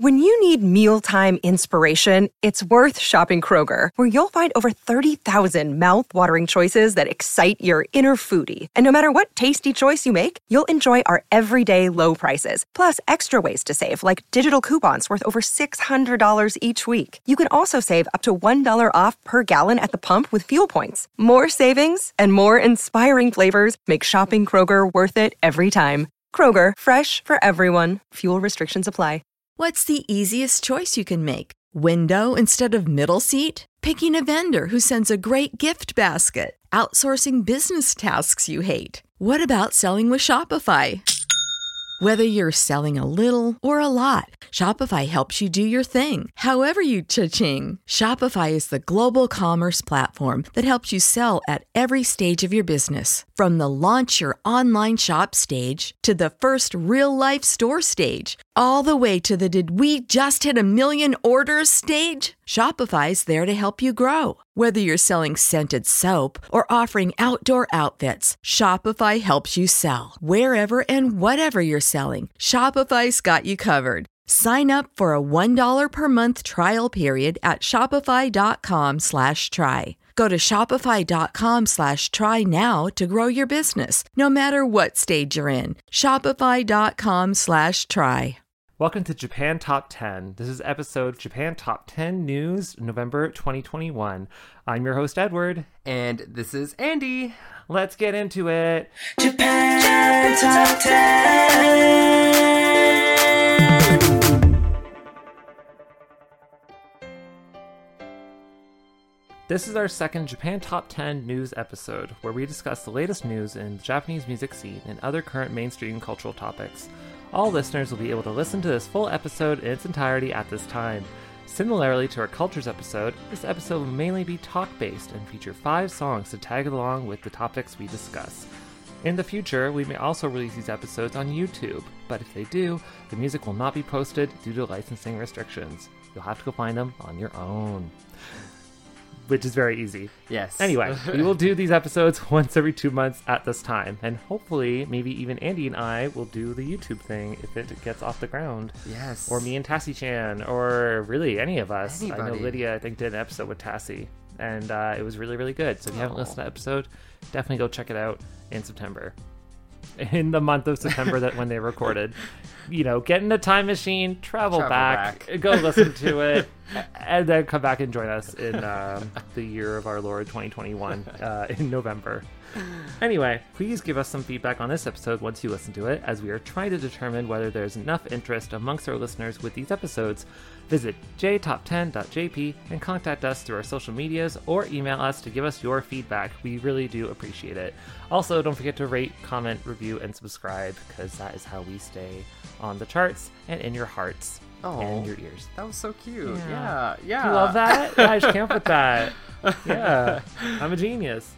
When you need mealtime inspiration, it's worth shopping Kroger, where you'll find over 30,000 mouth-watering choices that excite your inner foodie. And no matter what tasty choice you make, you'll enjoy our everyday low prices, plus extra ways to save, like digital coupons worth over $600 each week. You can also save up to $1 off per gallon at the pump with fuel points. More savings and more inspiring flavors make shopping Kroger worth it every time. Kroger, fresh for everyone. Fuel restrictions apply. What's the easiest choice you can make? Window instead of middle seat? Picking a vendor who sends a great gift basket? Outsourcing business tasks you hate? What about selling with Shopify? Whether you're selling a little or a lot, Shopify helps you do your thing, however you cha-ching. Shopify is the global commerce platform that helps you sell at every stage of your business. From the launch your online shop stage to the first real-life store stage, all the way to the did we just hit 1 million orders stage. Shopify's there to help you grow. Whether you're selling scented soap or offering outdoor outfits, Shopify helps you sell. Wherever and whatever you're selling, Shopify's got you covered. Sign up for a $1 per month trial period at shopify.com/try. Go to shopify.com/try now to grow your business, no matter what stage you're in. Shopify.com/try. Welcome to Japan Top 10. This is episode Japan Top 10 News, November 2021. I'm your host, Edward. And this is Andy. Let's get into it. Japan Top 10. This is our second Japan Top 10 News episode, where we discuss the latest news in the Japanese music scene and other current mainstream cultural topics. All listeners will be able to listen to this full episode in its entirety at this time. Similarly to our Cultures episode, this episode will mainly be talk-based and feature 5 songs to tag along with the topics we discuss. In the future, we may also release these episodes on YouTube, but if they do, the music will not be posted due to licensing restrictions. You'll have to go find them on your own. Which is very easy. Yes. Anyway, we will do these episodes once every 2 months at this time. And hopefully, maybe even Andy and I will do the YouTube thing if it gets off the ground. Yes. Or me and Tassie-chan, or really any of us. Anybody. I know Lydia, I think, did an episode with Tassie. And it was really, really good. So if you haven't listened to the episode, definitely go check it out in September. In the month of September that when they recorded. You know, get in a time machine, travel back, go listen to it, and then come back and join us in the year of our Lord 2021 in November. Anyway, please give us some feedback on this episode once you listen to it, as we are trying to determine whether there's enough interest amongst our listeners with these episodes. Visit jtop10.jp and contact us through our social medias or email us to give us your feedback. We really do appreciate it. Also, don't forget to rate, comment, review, and subscribe, because that is how we stay on the charts and in your hearts and your ears. That was so cute. Yeah. You love that? I just can't with that. Yeah, I'm a genius.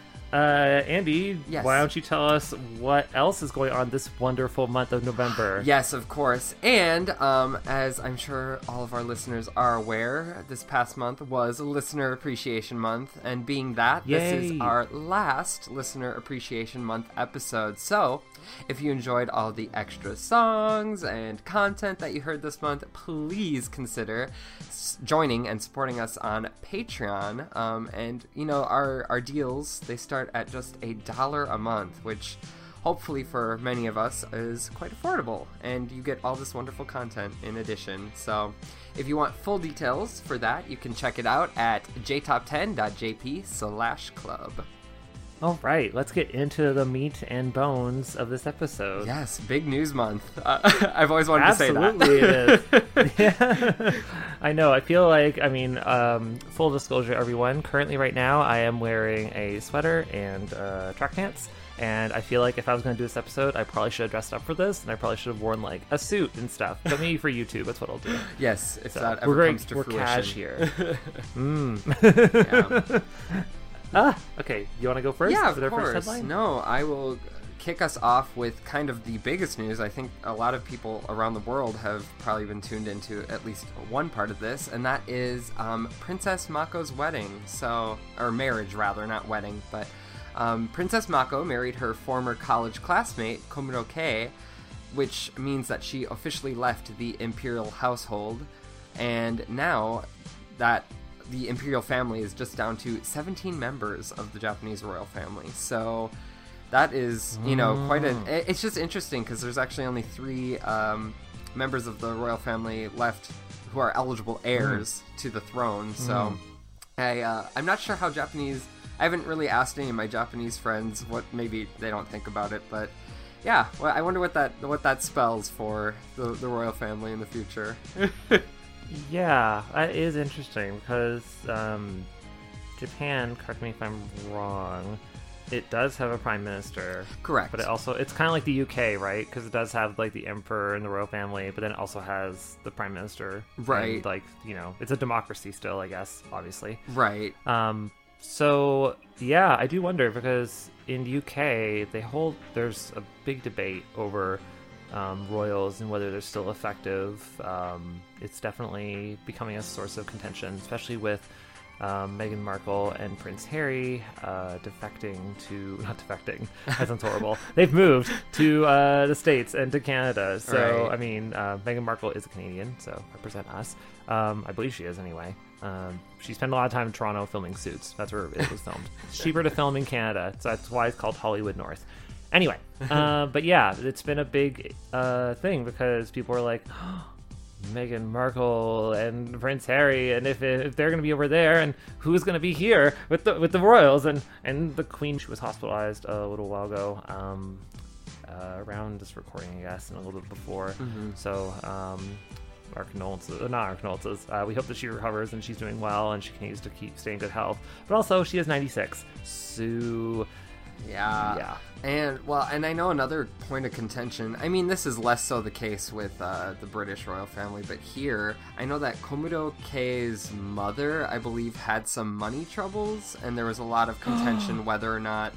Andy, yes. Why don't you tell us what else is going on this wonderful month of November? Yes, of course. And as I'm sure all of our listeners are aware, this past month was Listener Appreciation Month. And being that, Yay. This is our last Listener Appreciation Month episode. So if you enjoyed all the extra songs and content that you heard this month, please consider joining and supporting us on Patreon. And, you know, our deals, they start at just $1 a month, which hopefully for many of us is quite affordable. And you get all this wonderful content in addition. So if you want full details for that, you can check it out at jtop10.jp/club. All right, let's get into the meat and bones of this episode. Yes, big news month. I've always wanted to say that. Absolutely it is. Yeah. I know, I feel like, full disclosure, everyone, currently right now I am wearing a sweater and track pants, and I feel like if I was going to do this episode, I probably should have dressed up for this, and I probably should have worn, like, a suit and stuff. But maybe for YouTube, that's what I'll do. Yes, if that ever comes to fruition. We're cash here. Yeah. Okay, you want to go first? Yeah, Is of it our course. first headline? No, I will kick us off with kind of the biggest news. I think a lot of people around the world have probably been tuned into at least one part of this, and that is Princess Mako's wedding. Or marriage, rather, not wedding, but Princess Mako married her former college classmate, Komuro Kei, which means that she officially left the imperial household, and now that the imperial family is just down to 17 members of the Japanese royal family. So that is, quite it's just interesting because there's actually only 3 members of the royal family left who are eligible heirs to the throne. So I'm not sure how Japanese... I haven't really asked any of my Japanese friends what, maybe they don't think about it, but yeah, well, I wonder what that spells for the royal family in the future. Yeah, that is interesting because Japan, correct me if I'm wrong, it does have a prime minister. Correct. But it's kind of like the UK, right? Because it does have like the emperor and the royal family, but then it also has the prime minister. Right. And, it's a democracy still, I guess, obviously. Right. So yeah, I do wonder because in the UK there's a big debate over royals and whether they're still effective. It's definitely becoming a source of contention, especially with Meghan Markle and Prince Harry not defecting, that sounds horrible. They've moved to the States and to Canada. So, right. I mean, Meghan Markle is a Canadian, so represent us. I believe she is anyway. She spent a lot of time in Toronto filming Suits. That's where it was filmed. It's cheaper to film in Canada, so that's why it's called Hollywood North. Anyway, but yeah, it's been a big thing because people are like, Meghan Markle and Prince Harry, and if they're going to be over there, and who's going to be here with the royals and the Queen? She was hospitalized a little while ago, around this recording, I guess, and a little bit before. Mm-hmm. So our condolences, not our condolences. We hope that she recovers and she's doing well and she continues to keep staying in good health. But also, she is 96, so. Yeah. And I know another point of contention. I mean, this is less so the case with the British royal family, but here I know that Komodo Kei's mother, I believe, had some money troubles, and there was a lot of contention whether or not,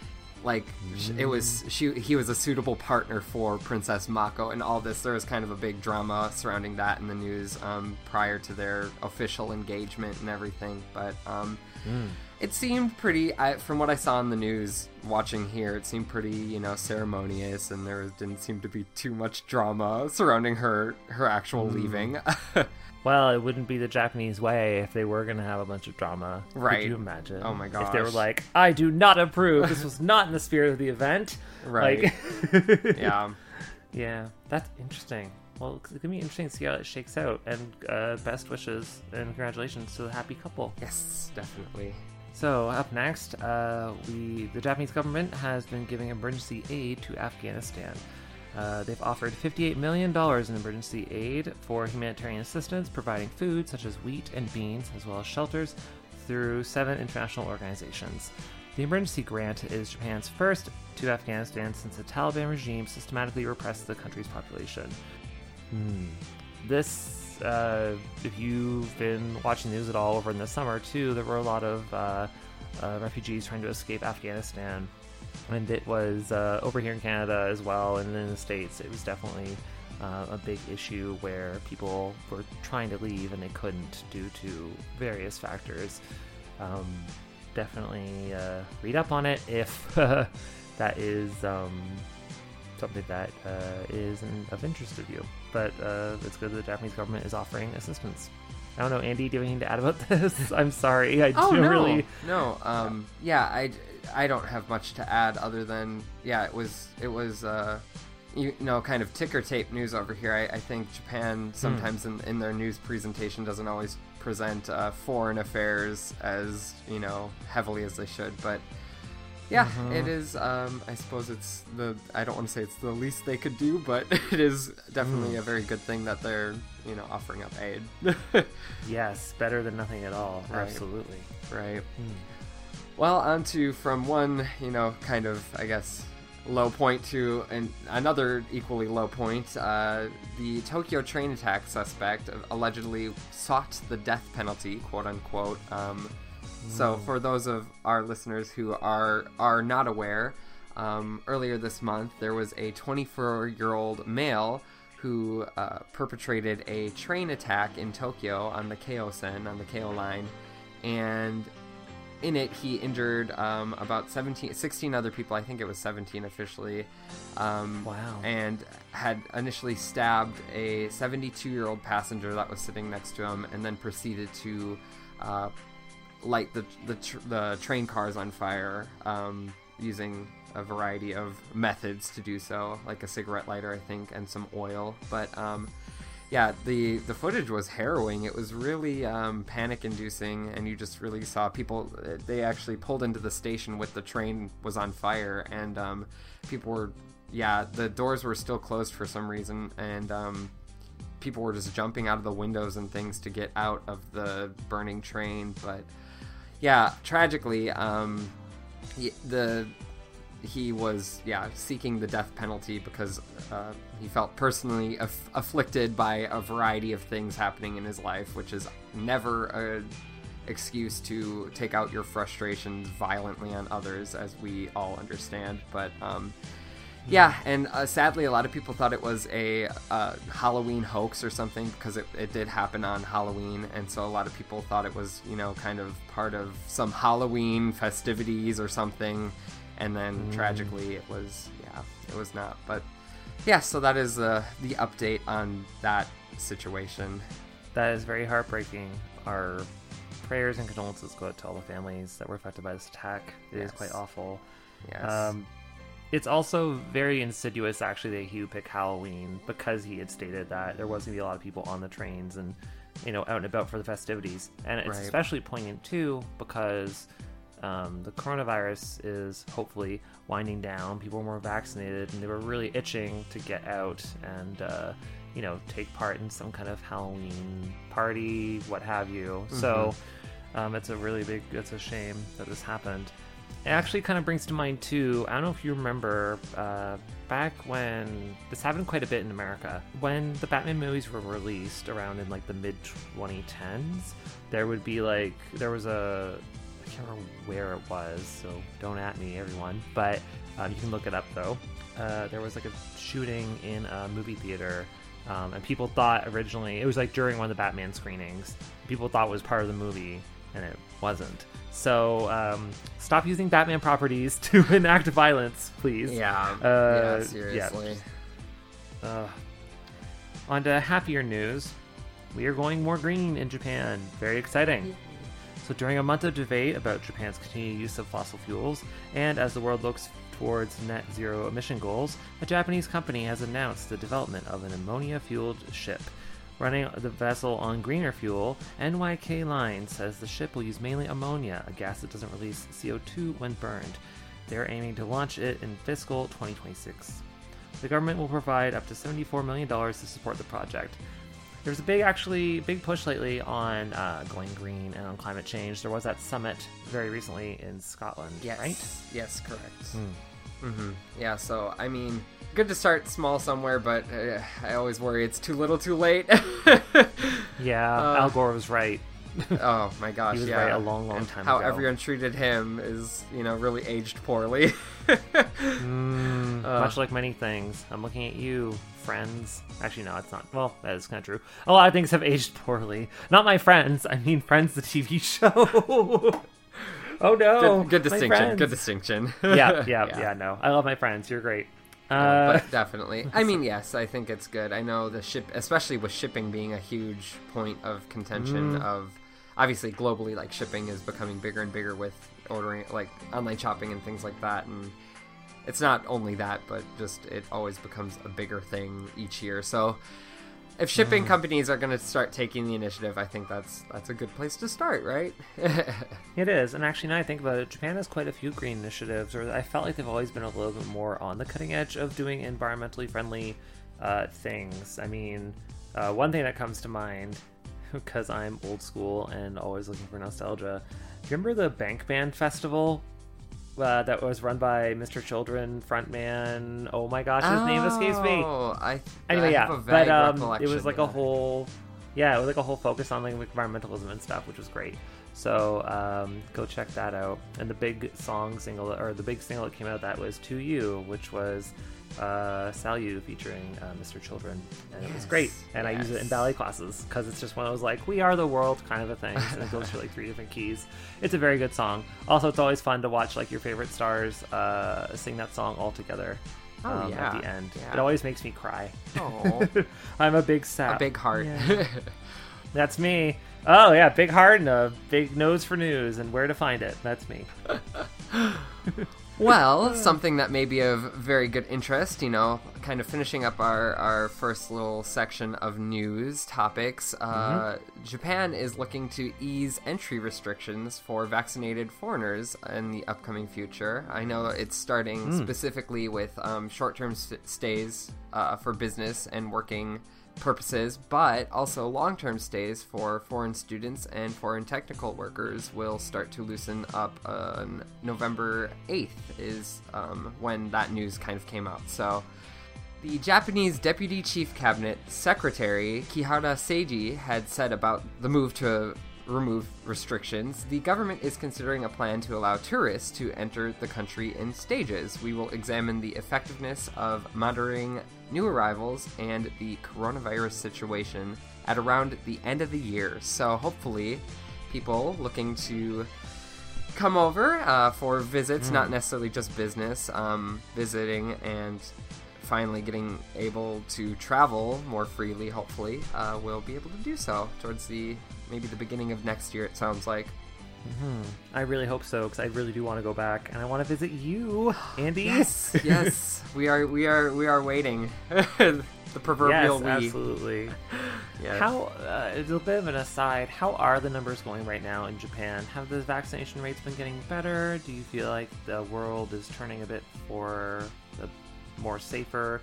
he was a suitable partner for Princess Mako, and all this. There was kind of a big drama surrounding that in the news prior to their official engagement and everything, but. It seemed pretty, from what I saw in the news watching here, it seemed pretty, ceremonious, and there didn't seem to be too much drama surrounding her actual leaving. Well, it wouldn't be the Japanese way if they were going to have a bunch of drama. Right. Could you imagine? Oh my gosh. If they were like, I do not approve, this was not in the spirit of the event. Right. Yeah. Yeah, that's interesting. Well, it's going to be interesting to see how it shakes out, and best wishes and congratulations to the happy couple. Yes, definitely. So, up next, the Japanese government has been giving emergency aid to Afghanistan. They've offered $58 million in emergency aid for humanitarian assistance, providing food such as wheat and beans, as well as shelters, through 7 international organizations. The emergency grant is Japan's first to Afghanistan since the Taliban regime systematically repressed the country's population. This... if you've been watching the news at all over in the summer too, there were a lot of refugees trying to escape Afghanistan, and it was over here in Canada as well, and in the States it was definitely a big issue where people were trying to leave and they couldn't due to various factors. Definitely read up on it if that is something that is of interest to you. But it's good that the Japanese government is offering assistance. I don't know, Andy, do you have anything to add about this? I'm sorry. No. I don't have much to add other than, it was kind of ticker tape news over here. I think Japan sometimes in their news presentation doesn't always present foreign affairs as, heavily as they should, but yeah, it is, I suppose I don't want to say it's the least they could do, but it is definitely a very good thing that they're, offering up aid. Yes, better than nothing at all. Right. Absolutely. Right. Well, on to from one, kind of, I guess, low point to another equally low point. The Tokyo train attack suspect allegedly sought the death penalty, quote unquote. So for those of our listeners who are not aware, earlier this month there was a 24-year-old male who perpetrated a train attack in Tokyo on the Keio-sen, on the Keio line, and in it, he injured about 16 other people. I think it was 17 officially. Wow. And had initially stabbed a 72-year-old passenger that was sitting next to him, and then proceeded to light the train cars on fire using a variety of methods to do so, like a cigarette lighter, I think, and some oil. But yeah, the footage was harrowing. It was really panic-inducing, and you just really saw people. They actually pulled into the station with the train was on fire, and people were, the doors were still closed for some reason, and people were just jumping out of the windows and things to get out of the burning train. But yeah, tragically, he was seeking the death penalty because he felt personally afflicted by a variety of things happening in his life, which is never an excuse to take out your frustrations violently on others, as we all understand. But and sadly a lot of people thought it was a Halloween hoax or something, because it did happen on Halloween, and so a lot of people thought it was, kind of part of some Halloween festivities or something. And then tragically it was not. But yeah, so that is the update on that situation. That is very heartbreaking. Our prayers and condolences go out to all the families that were affected by this attack. It is quite awful. Yes. It's also very insidious, actually, that he would pick Halloween, because he had stated that there was going to be a lot of people on the trains and, out and about for the festivities. And it's especially poignant, too, because the coronavirus is hopefully winding down. People are more vaccinated, and they were really itching to get out and, take part in some kind of Halloween party, what have you. Mm-hmm. So it's a shame that this happened. It actually kind of brings to mind, too, I don't know if you remember, back when, this happened quite a bit in America, when the Batman movies were released around in, the mid-2010s, there was I can't remember where it was, so don't at me, everyone, but you can look it up, though. There was a shooting in a movie theater, and people thought originally, it was during one of the Batman screenings, people thought it was part of the movie, and it wasn't. So stop using Batman properties to enact violence, please. Seriously. On to happier news, we are going more green in Japan. Very exciting. So during a month of debate about Japan's continued use of fossil fuels, and as the world looks towards net zero emission goals, a Japanese company has announced the development of an ammonia-fueled ship. Running the vessel on greener fuel, NYK Line says the ship will use mainly ammonia, a gas that doesn't release CO2 when burned. They're aiming to launch it in fiscal 2026. The government will provide up to $74 million to support the project. There's a big push lately on going green and on climate change. There was that summit very recently in Scotland, right? Yes, correct. Mm-hmm. Yeah, so, I mean, good to start small somewhere, but I always worry it's too little too late. Al Gore was right. Oh, my gosh, he was right a long time ago. How ago. everyone treated him is, really aged poorly. Much like many things. I'm looking at you, Friends. Actually, no, it's not. Well, that is kind of true. A lot of things have aged poorly. Not my Friends. I mean Friends, the TV show. Oh, no. Good distinction. Good distinction. Yeah, no. I love my Friends. You're great. But definitely. I mean, yes, I think it's good. I know the ship, especially with shipping being a huge point of contention of, obviously globally, shipping is becoming bigger and bigger with ordering, online shopping and things like that. And it's not only that, but just it always becomes a bigger thing each year. So if shipping companies are going to start taking the initiative, I think that's a good place to start, right? It is. And actually, now I think about it, Japan has quite a few green initiatives, or I felt like they've always been a little bit more on the cutting edge of doing environmentally friendly things. I mean, one thing that comes to mind, because I'm old school and always looking for nostalgia, remember the Bank Band Festival? That was run by Mr. Children frontman. Oh my gosh, his name escapes me. I have a vague recollection. It was a whole Yeah, it was like a whole focus on like environmentalism and stuff, which was great. So go check that out. And the big single that came out, that was To You, which was Salu featuring Mr. Children, and it was great. And I use it in ballet classes because it's just one of those like we are the world kind of a thing, and it goes for like 3 different keys. It's a very good song. Also, it's always fun to watch like your favorite stars sing that song all together. At the end. It always makes me cry. Oh, I'm a big sap. a big heart. Yeah. That's me. Oh yeah, big heart and a big nose for news and where to find it. That's me. Well, something that may be of very good interest, kind of finishing up our first little section of news topics. Japan is looking to ease entry restrictions for vaccinated foreigners in the upcoming future. I know it's starting specifically with short-term stays for business and working purposes, but also long-term stays for foreign students and foreign technical workers will start to loosen up on November 8th is when that news kind of came out. So the Japanese Deputy Chief Cabinet Secretary Kihara Seiji had said about the move to remove restrictions, the government is considering a plan to allow tourists to enter the country in stages. We will examine the effectiveness of monitoring new arrivals and the coronavirus situation at around the end of the year. So hopefully people looking to come over for visits, not necessarily just business, visiting and finally getting able to travel more freely, hopefully, will be able to do so towards maybe the beginning of next year, it sounds like. I really hope so, because I really do want to go back, and I want to visit you, Andy. Yes, we are waiting. The proverbial yes, absolutely. Yes. How? It's a bit of an aside. How are the numbers going right now in Japan? Have the vaccination rates been getting better? Do you feel like the world is turning a bit for the more safer?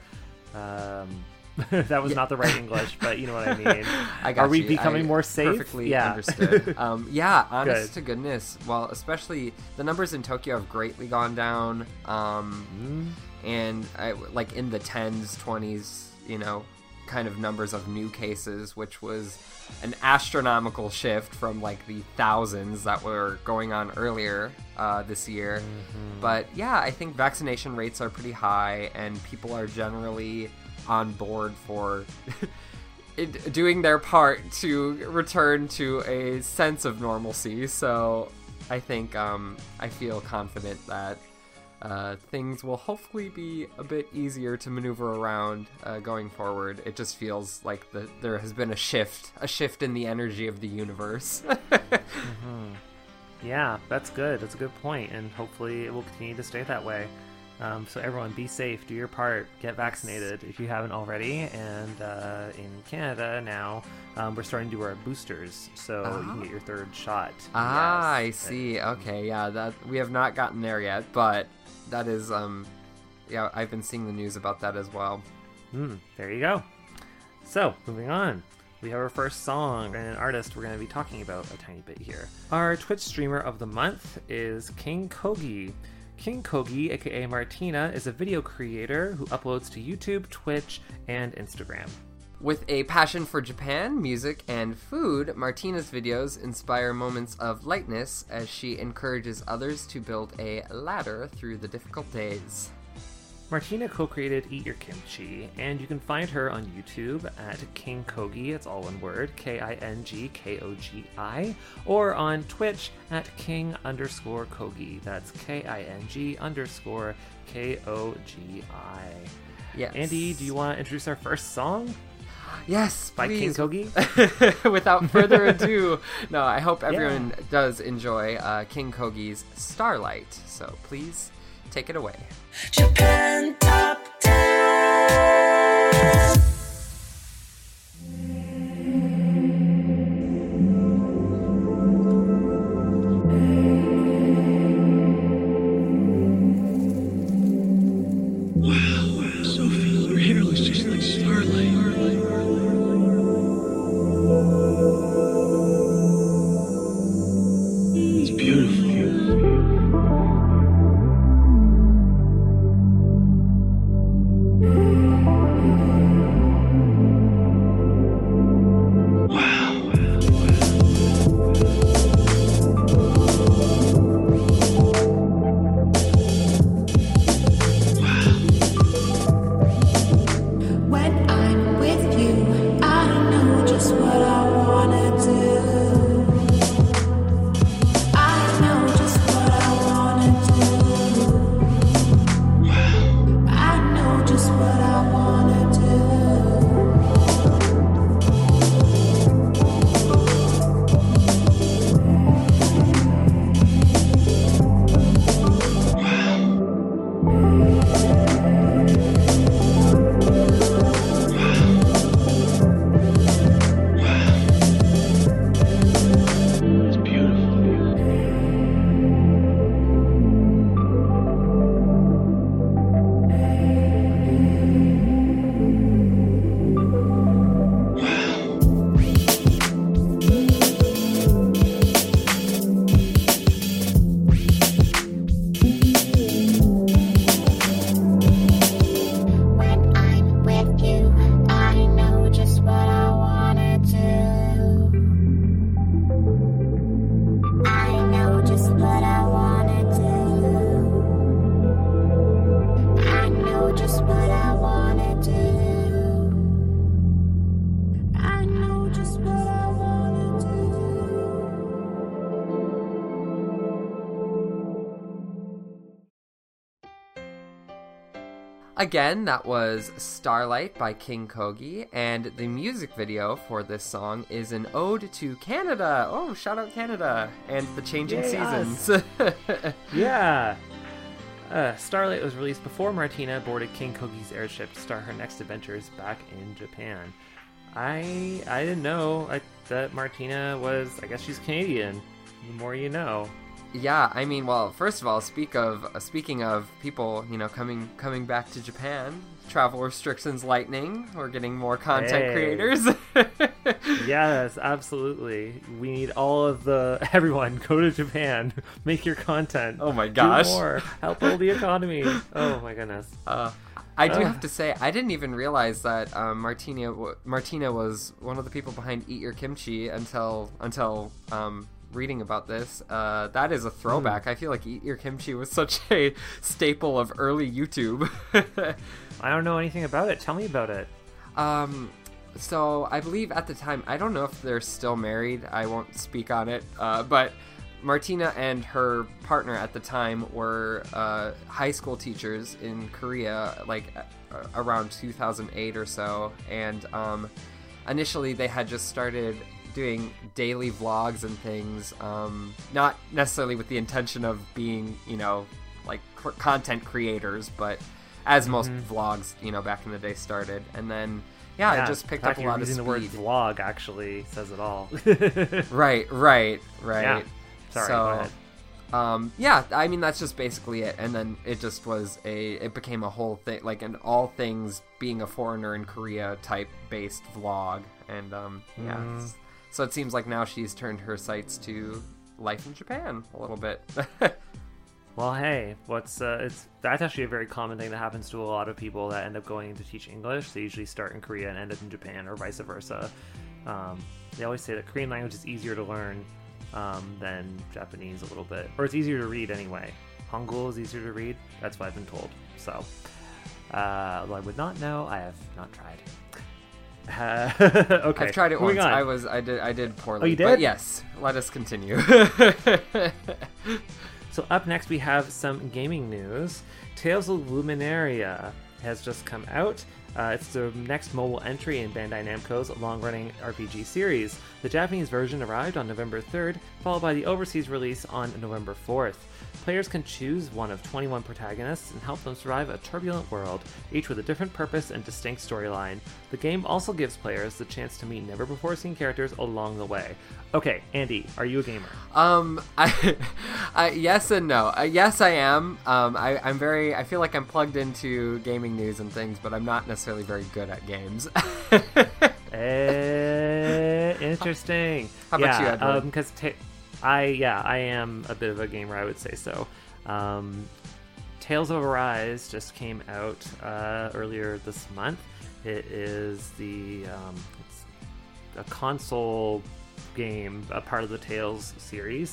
That was not the right English, but you know what I mean. Are we becoming more safe? Perfectly understood. Honest to goodness. Well, especially the numbers in Tokyo have greatly gone down, and like in the 10s, 20s, kind of numbers of new cases, which was an astronomical shift from like the thousands that were going on earlier this year. But yeah, I think vaccination rates are pretty high, and people are generally on board for doing their part to return to a sense of normalcy. So I think I feel confident that things will hopefully be a bit easier to maneuver around going forward. It just feels like there has been a shift in the energy of the universe. Yeah, that's good. That's a good point, and hopefully it will continue to stay that way. So everyone, be safe, do your part, get vaccinated if you haven't already. And in Canada now, we're starting to do our boosters, so you can get your third shot. I see. Okay, yeah, that we have not gotten there yet, but that is, I've been seeing the news about that as well. There you go. So, moving on. We have our first song and an artist we're going to be talking about a tiny bit here. Our Twitch streamer of the month is King Kogi. King Kogi, aka Martina, is a video creator who uploads to YouTube, Twitch, and Instagram. With a passion for Japan, music, and food, Martina's videos inspire moments of lightness as she encourages others to build a ladder through the difficult days. Martina co-created Eat Your Kimchi, and you can find her on YouTube at King Kogi, it's all one word, KINGKOGI, or on Twitch at King_Kogi, that's KING_KOGI. Yes. Andy, do you want to introduce our first song? Yes, by please. King Kogi? Without further ado, no, I hope everyone does enjoy King Kogi's Starlight, so please take it away. Japan Top 10. Wow, Sophie, your hair looks just like starlight. It's beautiful. Again, that was Starlight by King Kogi, and the music video for this song is an ode to Canada. Oh, shout out Canada and the changing seasons. Yeah. Starlight was released before Martina boarded King Kogi's airship to start her next adventures back in Japan. I didn't know that Martina was, I guess she's Canadian. The more you know. Yeah, I mean, well, first of all, speaking of people, coming back to Japan, travel restrictions lightening. We're getting more content creators. Yes, absolutely. We need everyone go to Japan, make your content. Oh my gosh, do more, help build the economy. Oh my goodness. I do have to say, I didn't even realize that Martina was one of the people behind Eat Your Kimchi until reading about this. That is a throwback. I feel like Eat Your Kimchi was such a staple of early YouTube. I don't know anything about it. Tell me about it. So I believe at the time, I don't know if they're still married. I won't speak on it. But Martina and her partner at the time were high school teachers in Korea, like around 2008 or so. And initially they had just started doing daily vlogs and things, not necessarily with the intention of being, like content creators, but as most vlogs, back in the day started. And then, yeah, it just picked up a lot of speed. The word vlog actually says it all. Right. Yeah. Sorry, go ahead. Yeah, I mean, that's just basically it. And then it just was it became a whole thing, like an all things being a foreigner in Korea type based vlog. And, yeah. So it seems like now she's turned her sights to life in Japan a little bit. Well, hey, that's actually a very common thing that happens to a lot of people that end up going to teach English. They usually start in Korea and end up in Japan, or vice versa. They always say that Korean language is easier to learn than Japanese a little bit, or it's easier to read anyway. Hangul is easier to read. That's what I've been told. So, although I would not know, I have not tried. Okay. I've tried it once. On. I did poorly. Oh, you did? But yes, let us continue. So up next we have some gaming news. Tales of Luminaria has just come out. It's the next mobile entry in Bandai Namco's long-running RPG series. The Japanese version arrived on November 3rd, followed by the overseas release on November 4th. Players can choose one of 21 protagonists and help them survive a turbulent world, each with a different purpose and distinct storyline. The game also gives players the chance to meet never-before-seen characters along the way. Okay, Andy, are you a gamer? Yes and no. Yes, I am. I feel like I'm plugged into gaming news and things, but I'm not necessarily very good at games. Interesting. How about you, Edward? Because I am a bit of a gamer, I would say so. Tales of Arise just came out earlier this month. It is it's a console game, a part of the Tales series.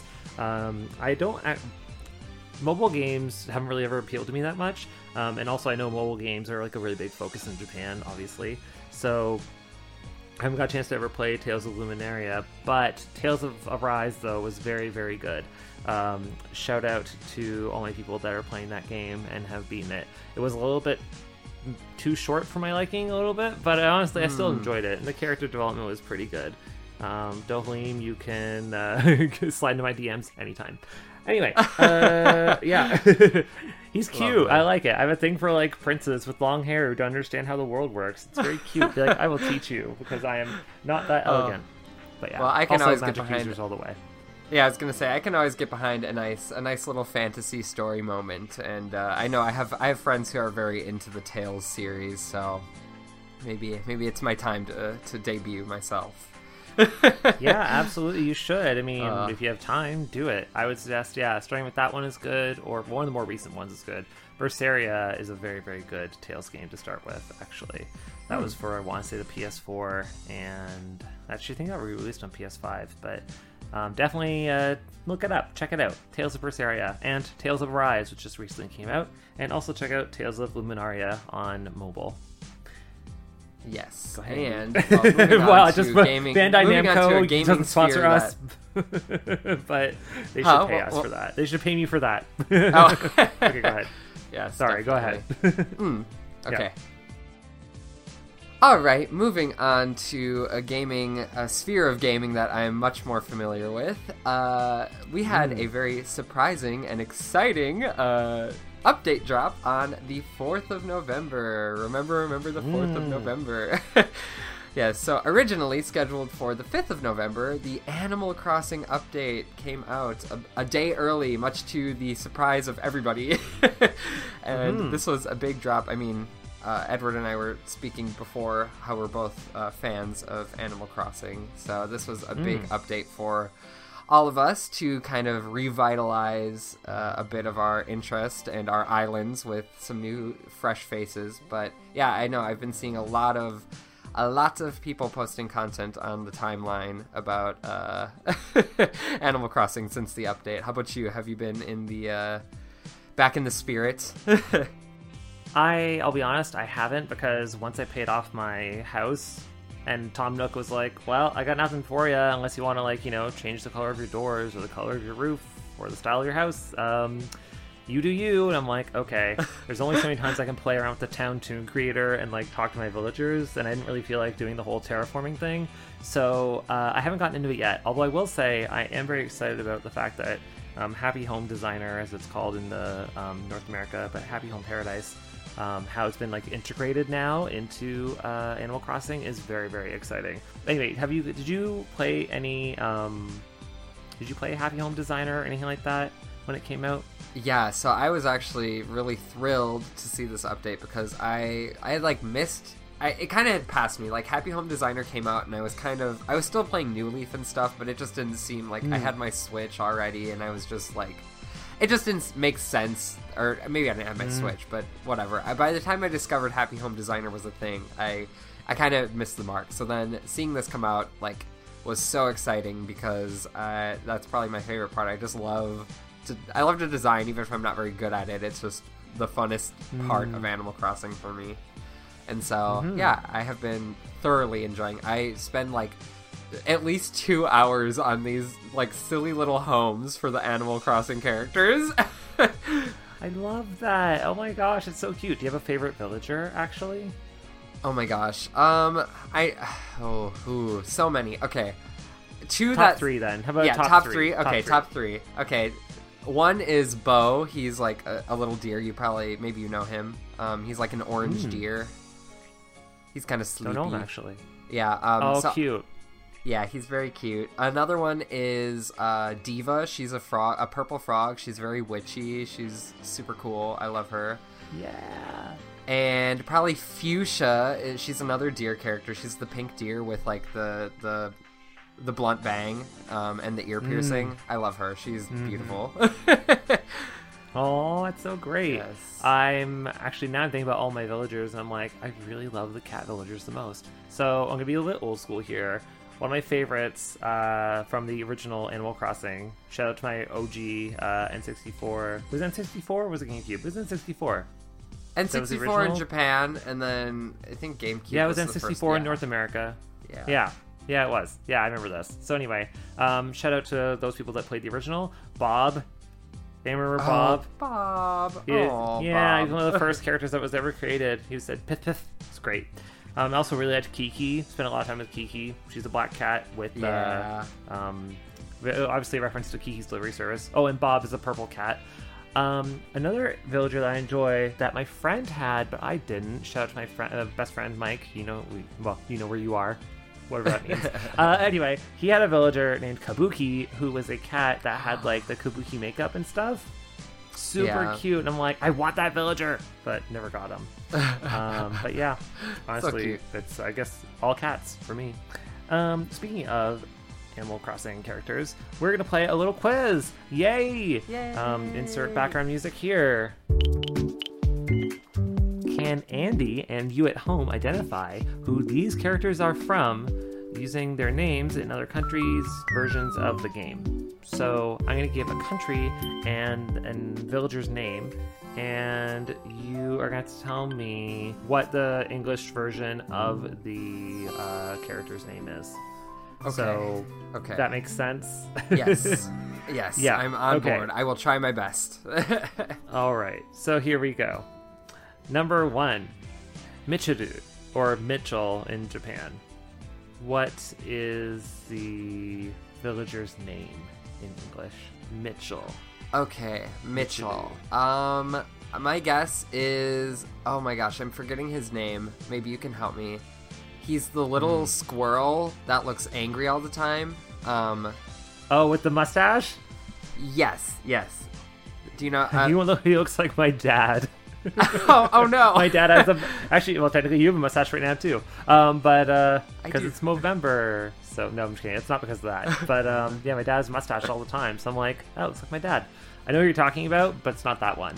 Mobile games haven't really ever appealed to me that much, and also I know mobile games are like a really big focus in Japan, obviously. So I haven't got a chance to ever play Tales of Luminaria, but Tales of Arise, though, was very, very good. Shout out to all my people that are playing that game and have beaten it. It was a little bit too short for my liking, a little bit, but honestly, I still enjoyed it, and the character development was pretty good. Dohlim, you can slide into my DMs anytime. Anyway, yeah. He's cute. I like it. I have a thing for like princes with long hair who don't understand how the world works. It's very cute. Be like, I will teach you because I am not that elegant. But yeah, well, I can also always magic get behind users all the way. Yeah, I was gonna say I can always get behind a nice little fantasy story moment, and I know I have friends who are very into the Tales series, so maybe it's my time to debut myself. Yeah, absolutely, you should. I mean, if you have time, do it. I would suggest, starting with that one is good, or one of the more recent ones is good. Berseria is a very, very good Tales game to start with, actually. That was for, I want to say, the PS4, and actually I think that re-released on PS5, but definitely look it up, check it out. Tales of Berseria, and Tales of Arise, which just recently came out, and also check out Tales of Luminaria on mobile. Yes, and well, just gaming, Bandai Namco doesn't sponsor us, but they should pay us for that. They should pay me for that. Oh. Okay, go ahead. Yeah, sorry, go ahead. Okay. All right, moving on to a sphere of gaming that I'm much more familiar with. We had a very surprising and exciting update drop on the 4th of November. Remember the 4th of November. Yeah, so originally scheduled for the 5th of November, the Animal Crossing update came out a day early, much to the surprise of everybody. And this was a big drop. I mean, Edward and I were speaking before how we're both fans of Animal Crossing, so this was a big update for all of us to kind of revitalize a bit of our interest and our islands with some new, fresh faces. But yeah, I know I've been seeing a lot of people posting content on the timeline about Animal Crossing since the update. How about you? Have you been in the back in the spirit? I'll be honest, I haven't, because once I paid off my house and Tom Nook was like, well, I got nothing for you unless you want to, like, change the color of your doors or the color of your roof or the style of your house. You do you. And I'm like, okay, there's only so many times I can play around with the Town Toon Creator and, like, talk to my villagers, and I didn't really feel like doing the whole terraforming thing. So I haven't gotten into it yet. Although I will say I am very excited about the fact that Happy Home Designer, as it's called in the North America, but Happy Home Paradise, how it's been, like, integrated now into Animal Crossing is very, very exciting. Anyway, did you play any Happy Home Designer or anything like that when it came out? Yeah, so I was actually really thrilled to see this update because I had, like, missed... it kind of had passed me. Like, Happy Home Designer came out and I was still playing New Leaf and stuff, but it just didn't seem like I had my Switch already, and I was just like... It just didn't make sense, or maybe I didn't have my Switch, but whatever. By the time I discovered Happy Home Designer was a thing, I kind of missed the mark. So then seeing this come out, like, was so exciting because that's probably my favorite part. I love to design, even if I'm not very good at it. It's just the funnest part of Animal Crossing for me. And so, yeah, I have been thoroughly enjoying. I spend, like, at least 2 hours on these, like, silly little homes for the Animal Crossing characters. I love that. Oh my gosh, it's so cute. Do you have a favorite villager, actually? Oh my gosh. So many. Okay. Top three then. How about top three? Okay, top three. Okay. One is Bo. He's like a little deer. Maybe you know him. He's like an orange deer. He's kind of sleepy. Don't know him, actually. Yeah. Cute. Yeah, he's very cute. Another one is Diva. She's a purple frog. She's very witchy. She's super cool. I love her. Yeah. And probably Fuchsia. She's another deer character. She's the pink deer with, like, the blunt bang and the ear piercing. I love her. She's beautiful. Oh, that's so great. Yes. I'm thinking about all my villagers, and I'm like, I really love the cat villagers the most. So I'm going to be a little bit old school here. One of my favorites from the original Animal Crossing, shout out to my OG N64. Was it N64 or was it GameCube? It was N64. N64 in Japan, and then I think GameCube. Yeah, it was N64 in North America. Yeah, it was. Yeah, I remember this. So anyway, shout out to those people that played the original. Bob. Do you remember Bob? Bob. Bob. He's one of the first characters that was ever created. He said Pith Pith. It's great. I also really liked Kiki. Spent a lot of time with Kiki. She's a black cat with obviously a reference to Kiki's Delivery Service. Oh, and Bob is a purple cat. Another villager that I enjoy that my friend had, but I didn't. Shout out to my friend, best friend Mike. You know where you are, whatever that means. Anyway, he had a villager named Kabuki, who was a cat that had, like, the Kabuki makeup and stuff. Super cute, and I'm like, I want that villager, but never got him. But yeah, honestly, it's, I guess, all cats for me. Speaking of Animal Crossing characters, we're gonna play a little quiz. Yay! Insert background music here. Can Andy and you at home identify who these characters are from using their names in other countries' versions of the game? So I'm going to give a country and villager's name, and you are going to tell me what the English version of the character's name is. Okay. So, okay. That makes sense? Yes. Yes. Yeah. I'm on board. I will try my best. All right. So here we go. Number 1. Michiru, or Mitchell in Japan. What is the villager's name in English? Mitchell. Okay, Mitchell. My guess is... Oh my gosh, I'm forgetting his name. Maybe you can help me. He's the little squirrel that looks angry all the time. Oh, with the mustache? Yes. Do you know... He looks like my dad. oh no! My dad has actually, well, technically you have a mustache right now too. But because it's Movember, so no, I'm just kidding. It's not because of that. But yeah, my dad has a mustache all the time, so I'm like, oh, it looks like my dad. I know who you're talking about, but it's not that one.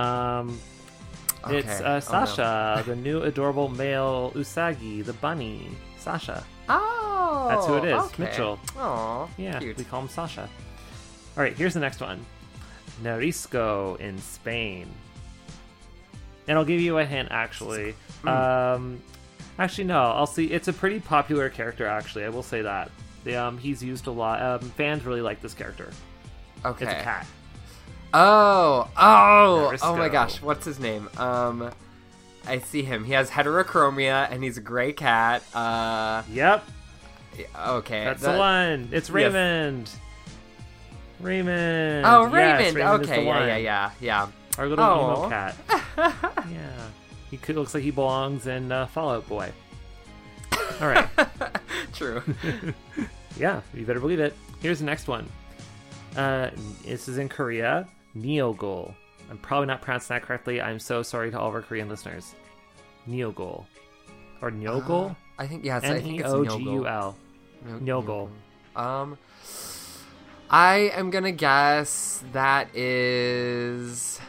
It's Sasha, the new adorable male Usagi, the bunny. Sasha. Oh, that's who it is. Okay. Mitchell. Oh, yeah, cute. we call him Sasha. All right, here's the next one. Narisco in Spain. And I'll give you a hint, actually. Actually, no. I'll see. It's a pretty popular character, actually. I will say that. He's used a lot. Fans really like this character. Okay. It's a cat. Oh Narisco. my gosh, what's his name? I see him. He has heterochromia, and he's a gray cat. Yep. Okay. That's the one. It's Raymond. Yes. Raymond. Oh, Yes, Raymond. Raymond is Okay, the one. yeah. Our little emo cat. Yeah. He looks like he belongs in Fallout Boy. All right. True. Yeah, you better believe it. Here's the next one. This is in Korea. Neogul. I'm probably not pronouncing that correctly. I'm so sorry to all of our Korean listeners. Neogul. Or Neogul? I think, yes, I think it's Neogul. Neogul. Neogul. I am gonna guess that is...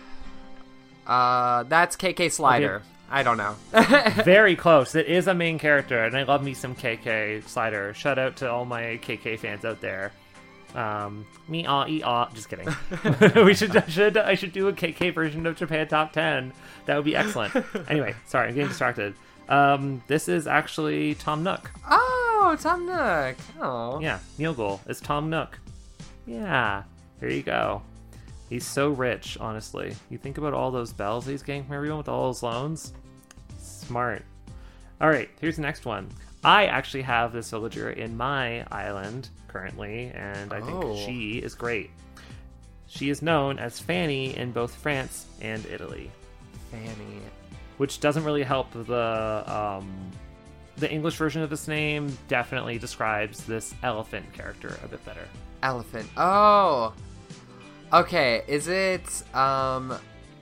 that's KK Slider. Okay. I don't know. Very close. It is a main character, and I love me some KK Slider. Shout out to all my KK fans out there. Me just kidding. I should do a KK version of Japan Top 10. That would be excellent. Anyway, sorry, I'm getting distracted. This is actually Tom Nook. Oh, Tom Nook. Oh. Yeah, Neogul is Tom Nook. Yeah, there you go. He's so rich, honestly. You think about all those bells he's getting from everyone with all those loans? Smart. All right, here's the next one. I actually have this villager in my island currently, and I think she is great. She is known as Fanny in both France and Italy. Fanny. Which doesn't really help the English version of this name definitely describes this elephant character a bit better. Elephant. Oh. Okay, is it, I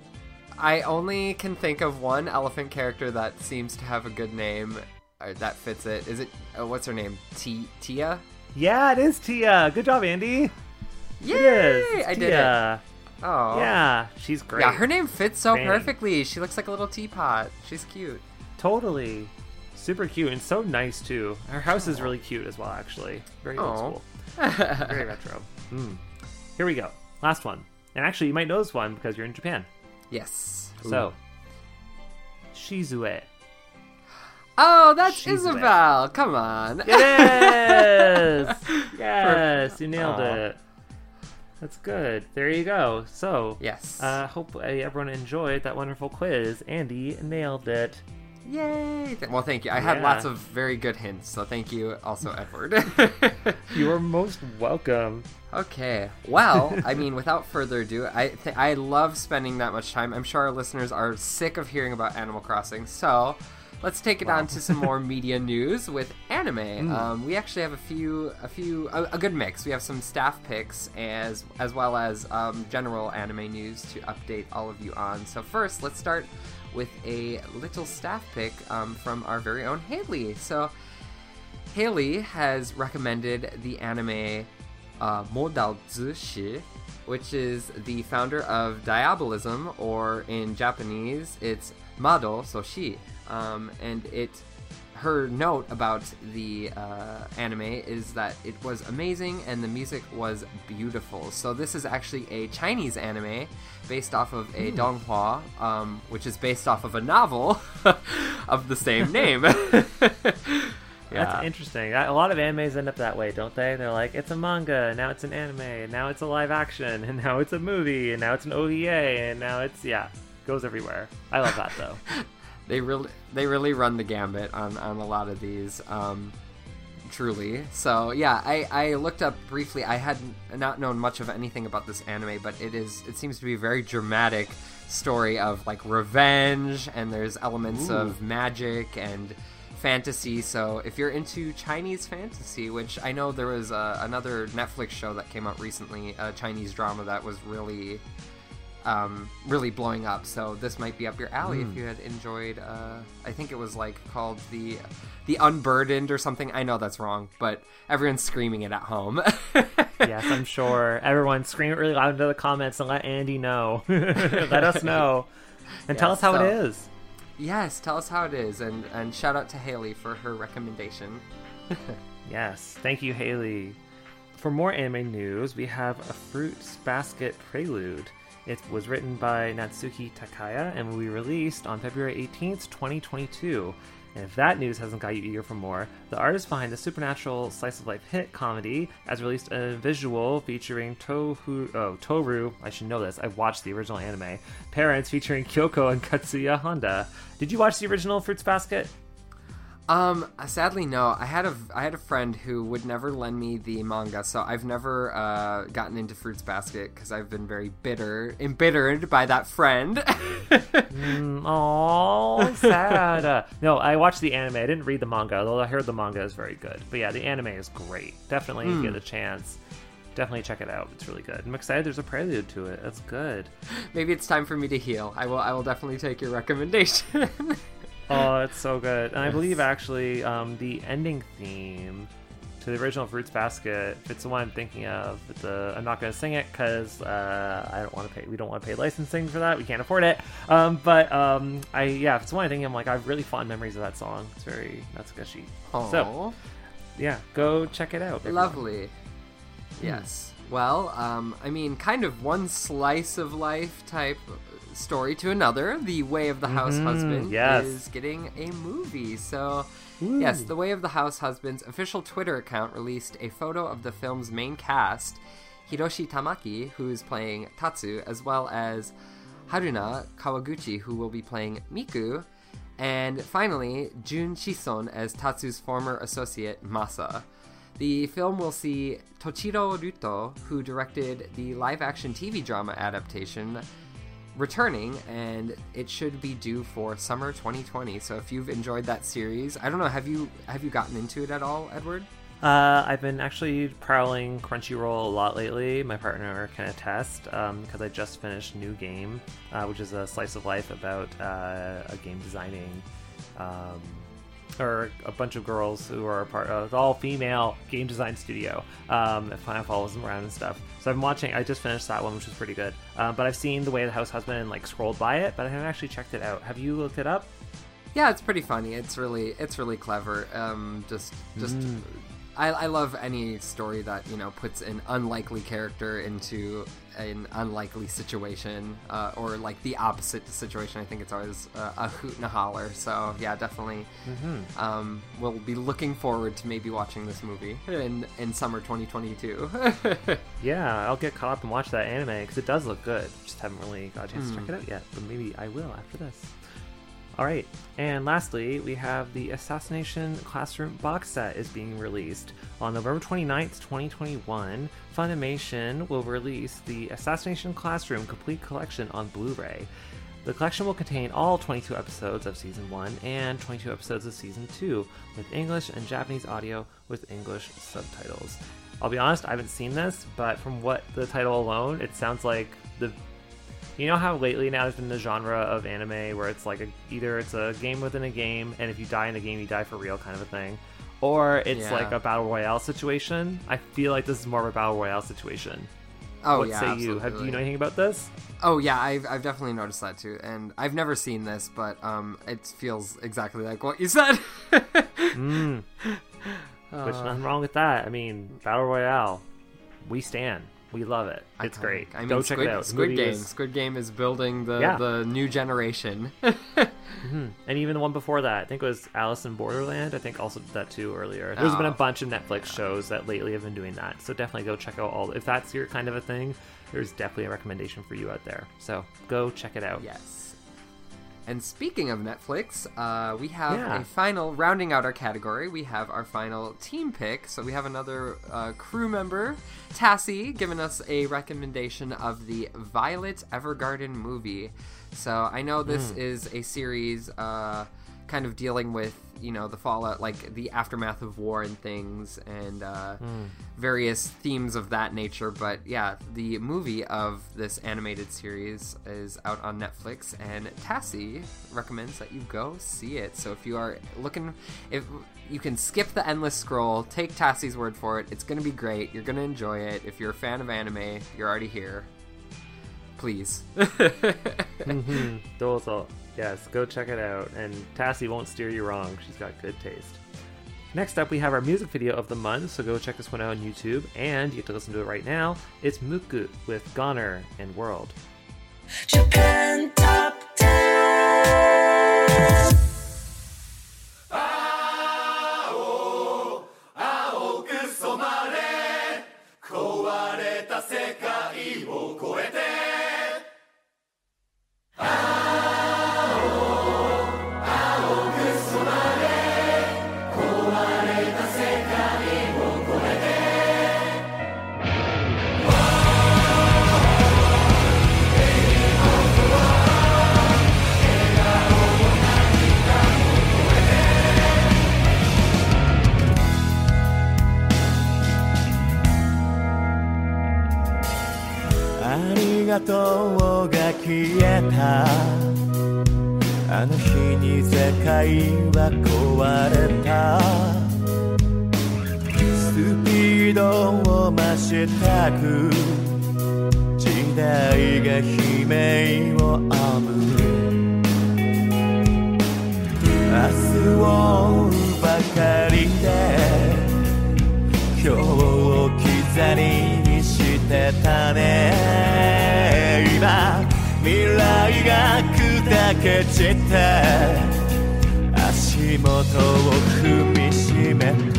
only can think of one elephant character that seems to have a good name, or that fits it. Is it, what's her name? Tia? Yeah, it is Tia. Good job, Andy. Yay! It is. It's I Tia. did it. Oh. Yeah, she's great. Yeah, her name fits so Fanny. perfectly. She looks like a little teapot. She's cute. Totally. Super cute and so nice, too. Her house is really cute as well, actually. Very old school. Very retro. Here we go. Last one. And actually, you might know this one because you're in Japan. Yes. So, Shizue. Oh, that's Shizue. Isabel. Come on. It is! Yes, you nailed it. That's good. There you go. So, Yes. hope everyone enjoyed that wonderful quiz. Andy nailed it. Yay! Well, thank you. I had Yeah. lots of very good hints, so thank you also, Edward. You are most welcome. Okay. Well, I mean, without further ado, I love spending that much time. I'm sure our listeners are sick of hearing about Animal Crossing, so let's take it on to some more media news with anime. We actually have a good mix. We have some staff picks as well as general anime news to update all of you on. So first, let's start with a little staff pick from our very own Haley. So Haley has recommended the anime Modal Zushi, which is the founder of Diabolism, or in Japanese, it's Mado Soshi. And her note about the anime is that it was amazing and the music was beautiful. So this is actually a Chinese anime based off of a donghua, which is based off of a novel of the same name. That's interesting. A lot of animes end up that way, don't they? They're like, it's a manga, now it's an anime, and now it's a live action, and now it's a movie, and now it's an OVA, and now it's, goes everywhere. I love that, though. They really run the gambit on a lot of these. Truly. So yeah, I looked up briefly. I had not known much of anything about this anime, but it seems to be a very dramatic story of like revenge, and there's elements of magic and fantasy. So if you're into Chinese fantasy, which I know there was another Netflix show that came out recently, a Chinese drama that was really blowing up, so this might be up your alley if you had enjoyed I think it was like called the Unburdened or something. I know that's wrong, but everyone's screaming it at home. Yes, I'm sure everyone scream it really loud into the comments and let Andy know. Let us know and tell us how it is. Yes, tell us how it is, and shout out to Haley for her recommendation. Yes, thank you, Haley. For more anime news, we have a Fruits Basket Prelude. It was written by Natsuki Takaya and will be released on February 18th, 2022. And if that news hasn't got you eager for more, the artist behind the supernatural slice-of-life hit comedy has released a visual featuring Toru, I should know this, I've watched the original anime, parents featuring Kyoko and Katsuya Honda. Did you watch the original Fruits Basket? Sadly, no. I had a friend who would never lend me the manga, so I've never gotten into Fruits Basket because I've been very embittered by that friend. Oh, sad. No, I watched the anime. I didn't read the manga, although I heard the manga is very good. But yeah, the anime is great. Definitely get a chance. Definitely check it out. It's really good. I'm excited there's a prelude to it. That's good. Maybe it's time for me to heal. I will definitely take your recommendation. Oh, it's so good. And I believe actually the ending theme to the original Fruits Basket, if it's the one I'm thinking of, I'm not going to sing it because I don't want to pay. We don't want to pay licensing for that. We can't afford it. If it's the one I'm thinking, I'm like, I have really fond memories of that song. It's very Natsukashi. So, yeah, go check it out. Everyone. Lovely. Yes. Well, kind of one slice of life type story to another. The Way of the House Husband is getting a movie. So, yes, The Way of the House Husband's official Twitter account released a photo of the film's main cast, Hiroshi Tamaki, who is playing Tatsu, as well as Haruna Kawaguchi, who will be playing Miku, and finally, Jun Shison as Tatsu's former associate, Masa. The film will see Tochiro Ruto, who directed the live-action TV drama adaptation, returning, and it should be due for summer 2020. So if you've enjoyed that series, I don't know, have you gotten into it at all, Edward? I've been actually prowling Crunchyroll a lot lately. My partner can attest, because I just finished New Game, which is a slice of life about a game designing or a bunch of girls who are a part of an all-female game design studio. It kind of follows them around and stuff. So I'm watching. I just finished that one, which was pretty good. But I've seen The Way of the House Husband and scrolled by it, but I haven't actually checked it out. Have you looked it up? Yeah, it's pretty funny. It's really clever. I love any story that puts an unlikely character into an unlikely situation, or the opposite situation. I think it's always a hoot and a holler. So yeah, definitely. We'll be looking forward to maybe watching this movie in summer 2022. Yeah, I'll get caught up and watch that anime because it does look good. Just haven't really got a chance to check it out yet, but maybe I will after this. All right, and lastly, we have the Assassination Classroom box set is being released. On November 29th, 2021, Funimation will release the Assassination Classroom Complete Collection on Blu-ray. The collection will contain all 22 episodes of Season 1 and 22 episodes of Season 2, with English and Japanese audio with English subtitles. I'll be honest, I haven't seen this, but from what the title alone, it sounds like you know how lately now there's been the genre of anime where it's either it's a game within a game, and if you die in the game, you die for real kind of a thing, or it's like a battle royale situation. I feel like this is more of a battle royale situation. Oh, what yeah, say absolutely. you? Do you know anything about this? Oh yeah, I've definitely noticed that too, and I've never seen this, but it feels exactly like what you said. Which nothing wrong with that. I mean, battle royale, we stand. We love it. It's great. Go check it out. Squid Game is building the new generation. And even the one before that, I think it was Alice in Borderland. I think also did that too earlier. There's been a bunch of Netflix shows that lately have been doing that. So definitely go check out if that's your kind of a thing, there's definitely a recommendation for you out there. So go check it out. Yes. And speaking of Netflix, we have a final, rounding out our category, we have our final team pick. So we have another crew member, Tassie, giving us a recommendation of the Violet Evergarden movie. So I know this is a series kind of dealing with, you know, the fallout, like the aftermath of war and things, and various themes of that nature. But yeah, the movie of this animated series is out on Netflix, and Tassie recommends that you go see it. So if you are looking, if you can skip the endless scroll, take Tassie's word for it. It's going to be great. You're going to enjoy it. If you're a fan of anime, you're already here. Please. Dozo. Yes, go check it out. And Tassie won't steer you wrong. She's got good taste. Next up, we have our music video of the month, so go check this one out on YouTube, and you get to listen to it right now. It's Muku with Goner and World. Japan Top 10. 青く染まれ壊れた世界を超えてありがとうが消えたあの日に世界は壊れたスピードを増したく時代が悲鳴をあぶる明日をばかりで今日を刻りにしてたね今未来が砕け散って足元を踏みしめた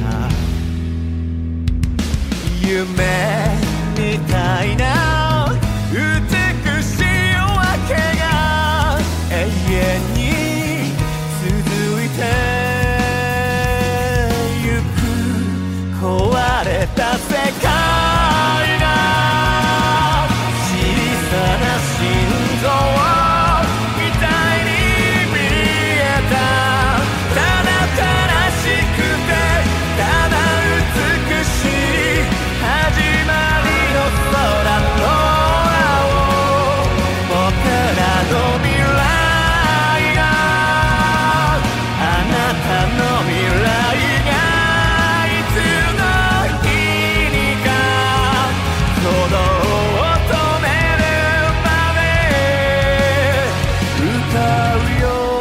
夢みたいな美しい夜明けが永遠に続いてゆく壊れた世界が小さな心臓みたいに見えたただ悲しくてただ美しい始まりの空の青僕らの未来があなたの未来がいつの日にか鼓動を止めるまで歌うよ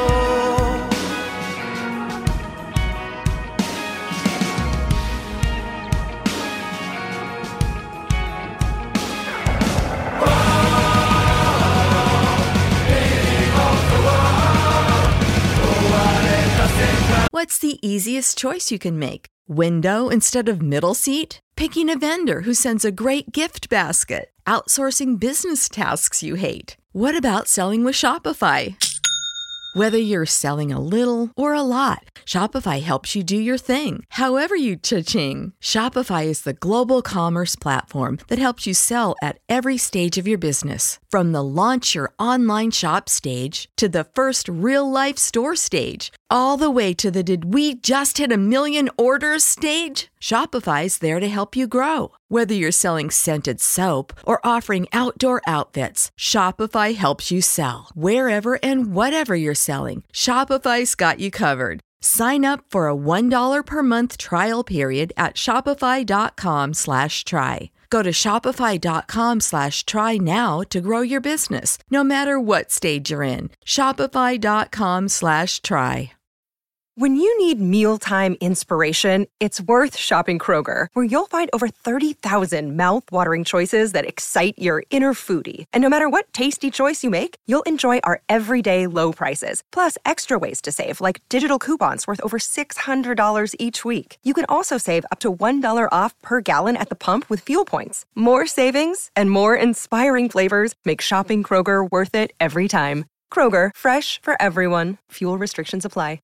What's the easiest choice you can make? Window instead of middle seat? Picking a vendor who sends a great gift basket? Outsourcing business tasks you hate? What about selling with Shopify? Whether you're selling a little or a lot, Shopify helps you do your thing, however you cha-ching. Shopify is the global commerce platform that helps you sell at every stage of your business. From the launch your online shop stage to the first real-life store stage, all the way to the did we just hit a million orders stage? Shopify's there to help you grow. Whether you're selling scented soap or offering outdoor outfits, Shopify helps you sell. Wherever and whatever you're selling, Shopify's got you covered. Sign up for a $1 per month trial period at shopify.com/try. Go to shopify.com/try now to grow your business, no matter what stage you're in. Shopify.com/try. When you need mealtime inspiration, it's worth shopping Kroger, where you'll find over 30,000 mouth-watering choices that excite your inner foodie. And no matter what tasty choice you make, you'll enjoy our everyday low prices, plus extra ways to save, like digital coupons worth over $600 each week. You can also save up to $1 off per gallon at the pump with fuel points. More savings and more inspiring flavors make shopping Kroger worth it every time. Kroger, fresh for everyone. Fuel restrictions apply.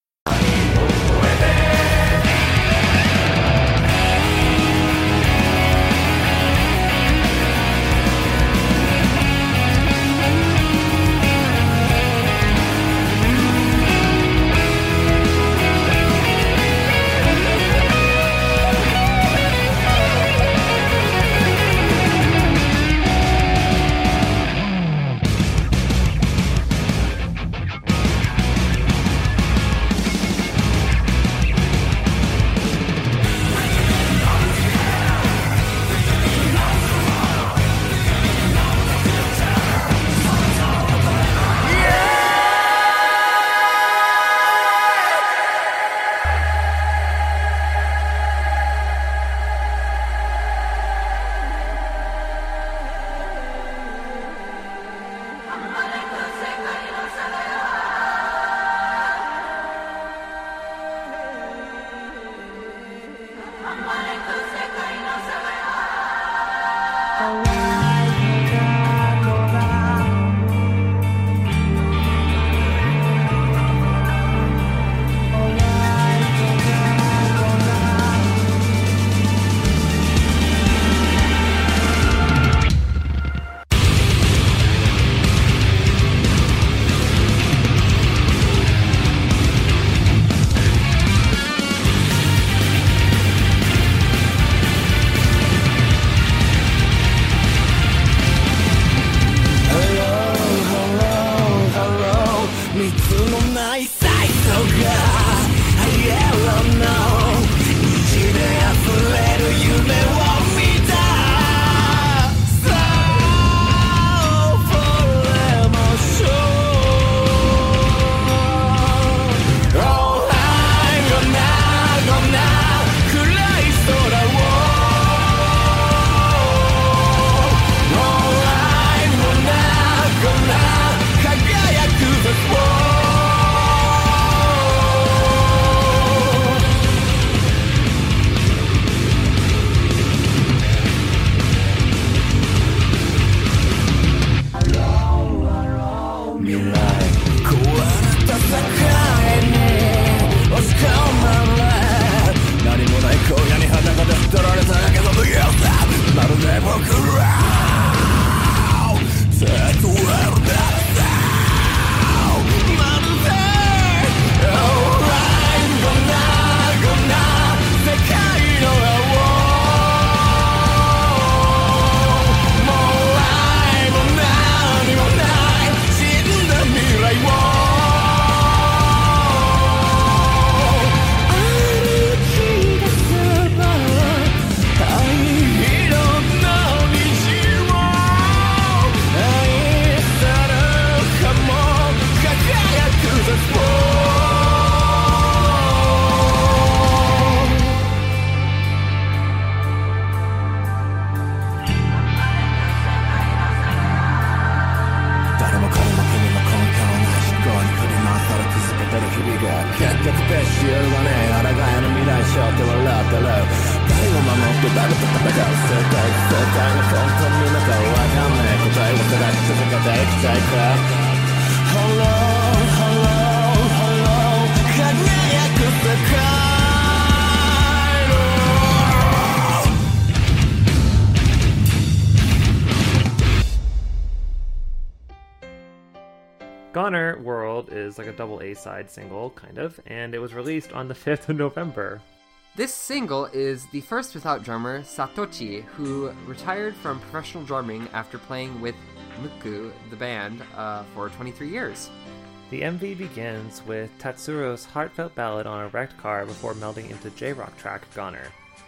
Goner World is like a double A-side single, kind of, and it was released on the 5th of November. This single is the first without drummer Satoshi, who retired from professional drumming after playing with Muku, the band, for 23 years. The MV begins with Tatsuro's heartfelt ballad on a wrecked car before melding into J-rock track Goner.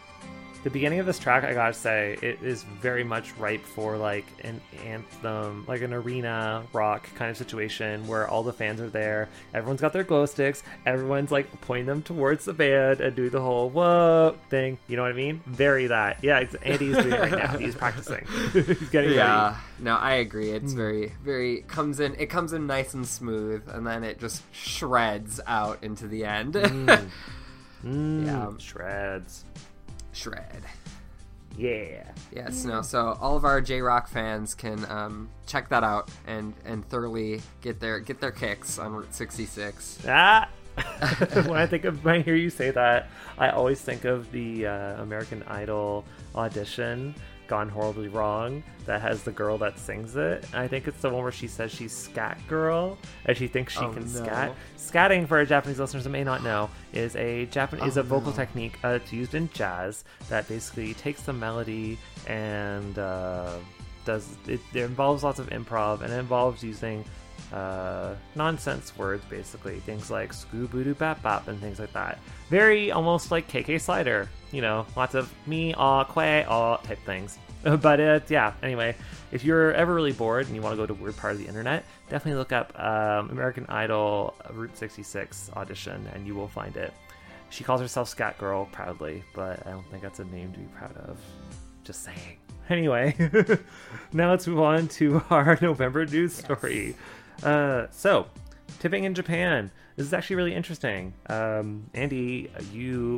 The beginning of this track, I gotta say, it is very much ripe for like an anthem, like an arena rock kind of situation where all the fans are there, everyone's got their glow sticks, everyone's like pointing them towards the band and do the whole whoa thing, you know what I mean? Very that. Yeah, Andy's doing it right now. He's practicing. He's getting ready. No, I agree. It's very it comes in nice and smooth, and then it just shreds out into the end. Yeah. Shreds. Shred. Yeah. Yes, no. So all of our J-Rock fans can check that out and thoroughly get their kicks on Route 66. Ah. When I hear you say that, I always think of the American Idol audition Gone Horribly Wrong that has the girl that sings it. I think it's the one where she says she's scat girl and she thinks she can scat. Scatting, for our Japanese listeners that may not know, is a vocal technique it's used in jazz that basically takes the melody and does it. It involves lots of improv, and it involves using nonsense words, basically things like scoo-boo-doo bap bap and things like that. Very almost like KK Slider, lots of me, aw, quay, aw type things. But yeah, anyway, if you're ever really bored and you want to go to a weird part of the internet, definitely look up American Idol Route 66 audition and you will find it. She calls herself Scat Girl proudly, but I don't think that's a name to be proud of. Just saying. Anyway, now let's move on to our November news story. So, tipping in Japan. This is actually really interesting. Andy, you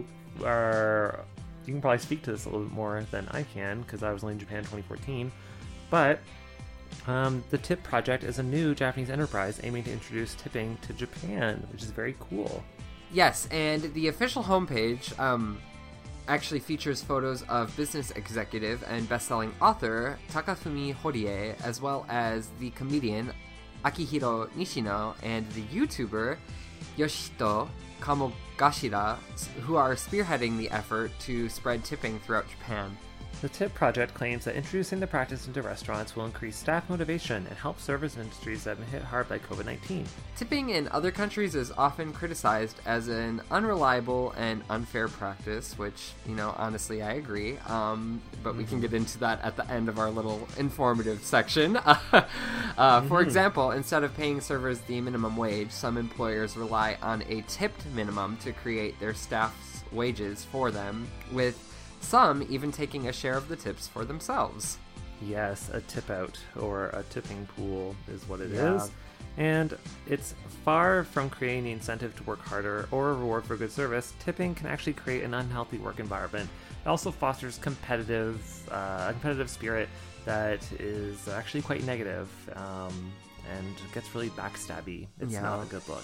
can probably speak to this a little bit more than I can because I was only in Japan in 2014. But the TIP project is a new Japanese enterprise aiming to introduce tipping to Japan, which is very cool. Yes, and the official homepage actually features photos of business executive and best-selling author Takafumi Horie, as well as the comedian Akihiro Nishino and the YouTuber Yoshito Kamogashira, who are spearheading the effort to spread tipping throughout Japan. The TIP project claims that introducing the practice into restaurants will increase staff motivation and help service industries that have been hit hard by COVID-19. Tipping in other countries is often criticized as an unreliable and unfair practice, which, honestly, I agree. But we can get into that at the end of our little informative section. For example, instead of paying servers the minimum wage, some employers rely on a tipped minimum to create their staff's wages for them, with some even taking a share of the tips for themselves. Yes, a tip out or a tipping pool is what it is. And it's far from creating the incentive to work harder or a reward for good service. Tipping can actually create an unhealthy work environment. It also fosters competitive spirit that is actually quite negative and gets really backstabby. It's not a good look.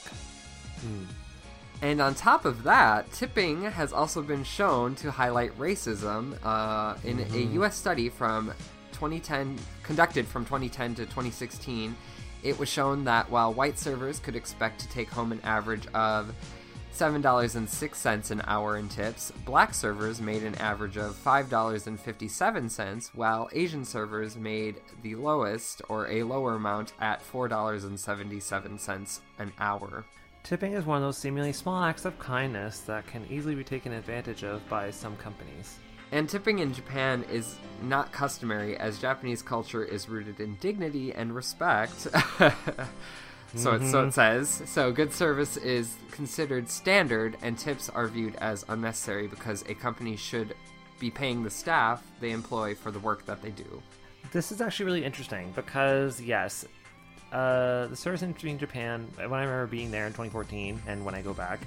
And on top of that, tipping has also been shown to highlight racism in a U.S. study from 2010, conducted from 2010 to 2016. It was shown that while white servers could expect to take home an average of $7.06 an hour in tips, black servers made an average of $5.57, while Asian servers made the lowest, or a lower amount, at $4.77 an hour. Tipping is one of those seemingly small acts of kindness that can easily be taken advantage of by some companies. And tipping in Japan is not customary, as Japanese culture is rooted in dignity and respect. So it says. So good service is considered standard, and tips are viewed as unnecessary because a company should be paying the staff they employ for the work that they do. This is actually really interesting because, yes, the service industry in Japan, when I remember being there in 2014 and when I go back,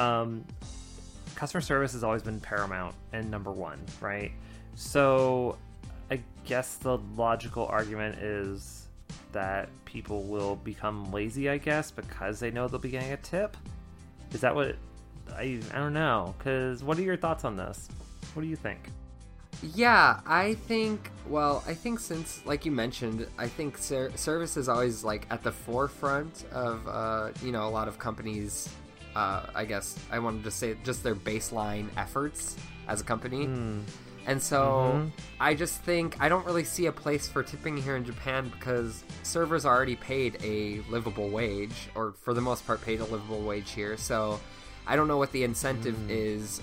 customer service has always been paramount and number one, right? So I guess the logical argument is that people will become lazy, I guess, because they know they'll be getting a tip. Is that what... I don't know, because what are your thoughts on this? What do you think? Yeah, I think since, like you mentioned, I think service is always, like, at the forefront of, a lot of companies, I guess I wanted to say just their baseline efforts as a company. And so I just think I don't really see a place for tipping here in Japan because servers are already paid a livable wage, or for the most part paid a livable wage here. So I don't know what the incentive is.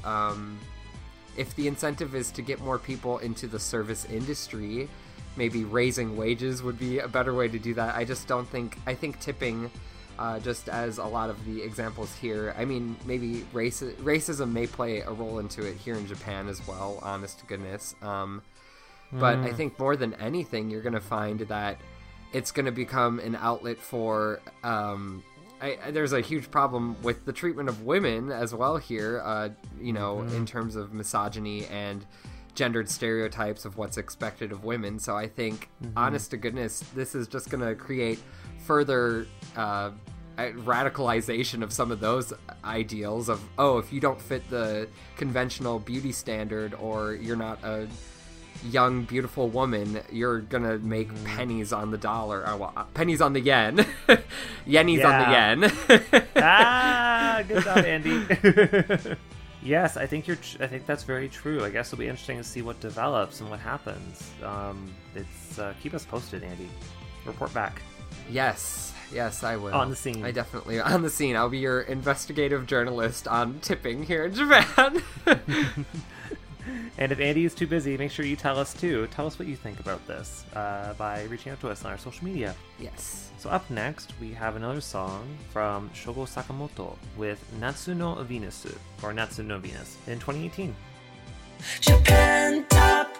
If the incentive is to get more people into the service industry, maybe raising wages would be a better way to do that. I think tipping, just as a lot of the examples here, I mean, maybe racism may play a role into it here in Japan as well, honest to goodness. But I think more than anything, you're going to find that it's going to become an outlet for... there's a huge problem with the treatment of women as well here, in terms of misogyny and gendered stereotypes of what's expected of women. So I think, honest to goodness, this is just going to create further radicalization of some of those ideals of, if you don't fit the conventional beauty standard, or you're not a young, beautiful woman, you're gonna make pennies on the dollar. Pennies on the yen. Yennies on the yen. Good job, Andy. Yes, I think that's very true. I guess it'll be interesting to see what develops and what happens. Keep us posted, Andy. Report back. Yes, I will. On the scene. I definitely on the scene. I'll be your investigative journalist on tipping here in Japan. And if Andy is too busy, make sure you tell us too. Tell us what you think about this by reaching out to us on our social media. Yes. So up next, we have another song from Shogo Sakamoto with Natsu no Venus, or Natsu no Venus, in 2018. Japan Top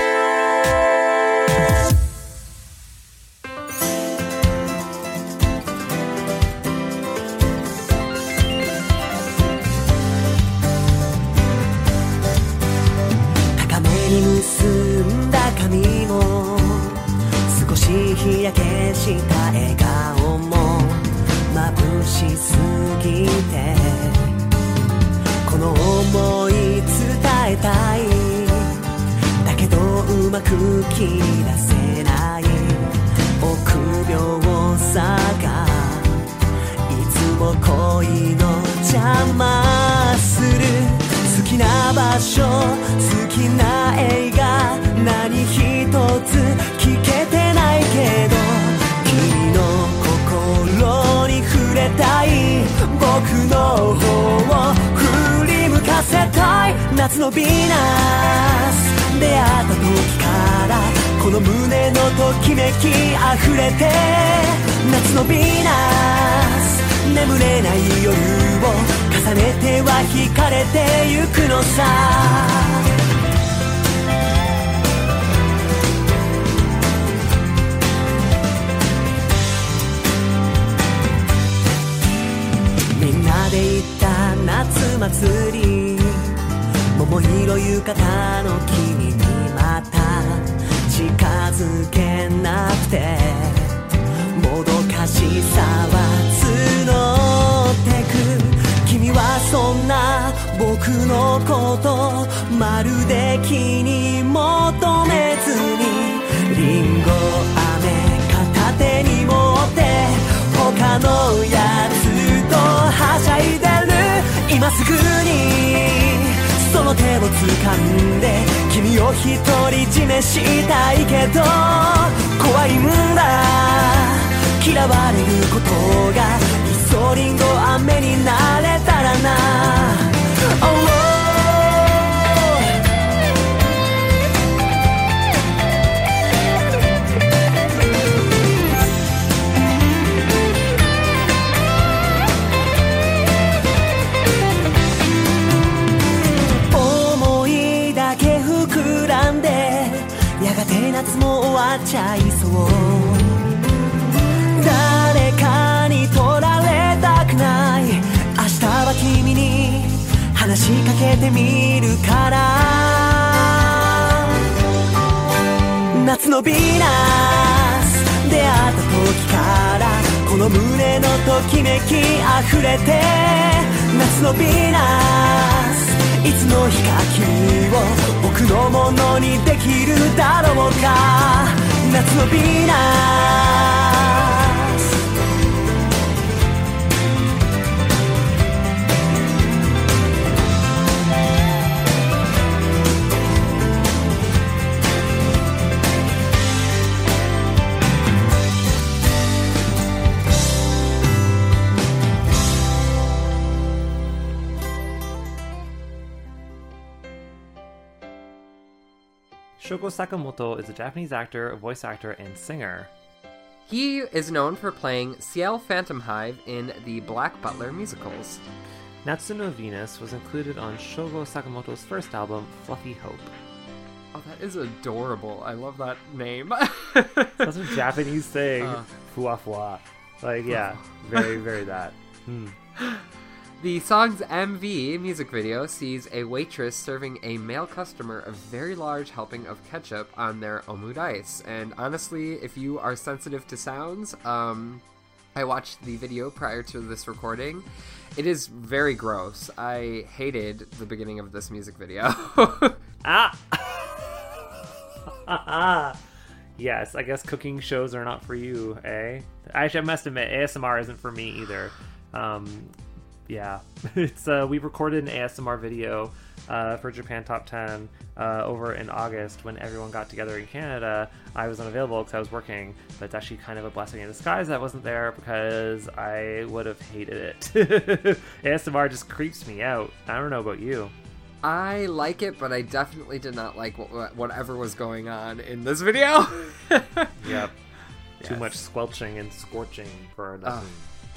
10.結んだ髪も少し日焼けした笑顔も眩しすぎてこの想い伝えたいだけどうまく切り出せない臆病さがいつも恋の邪魔する好きな場所好きな映画何一つ聞けてないけど君の心に触れたい僕の方を振り向かせたい夏のヴィーナス出会った時からこの胸のときめき溢れて夏のヴィーナス眠れない夜を重ねては惹かれてゆくのさみんなで行った夏祭り桃色浴衣の君にまた近づけなくてもどかしさは募ってく君はそんな僕のことまるで気に求めずにリンゴ飴片手に持って他のやつとはしゃいでる今すぐにその手を掴んで君を独り占めしたいけど怖いんだ嫌われることがイソリンゴ飴になれたらな、思いだけ膨らんでやがて夏も終わっちゃいそう誰かに取られたくない明日は君に話しかけてみるから夏のヴィーナス出会った時からこの胸のときめき溢れて夏のヴィーナスいつの日か君を僕のものにできるだろうか夏のヴィーナス Shogo Sakamoto is a Japanese actor, voice actor, and singer. He is known for playing Ciel Phantomhive in the Black Butler musicals. Natsu no Venus was included on Shogo Sakamoto's first album, Fluffy Hope. Oh, that is adorable. I love that name. That's a Japanese thing. Fua fua. Like, yeah, very, very that. The song's MV music video sees a waitress serving a male customer a very large helping of ketchup on their omurice. And honestly, if you are sensitive to sounds, I watched the video prior to this recording. It is very gross. I hated the beginning of this music video. Yes, I guess cooking shows are not for you, eh? Actually, I must admit, ASMR isn't for me either. Yeah, it's we recorded an ASMR video for Japan Top 10 over in August when everyone got together in Canada. I was unavailable because I was working, but it's actually kind of a blessing in disguise that I wasn't there because I would have hated it. ASMR just creeps me out. I don't know about you. I like it, but I definitely did not like whatever was going on in this video. Yep. Too much squelching and scorching for nothing.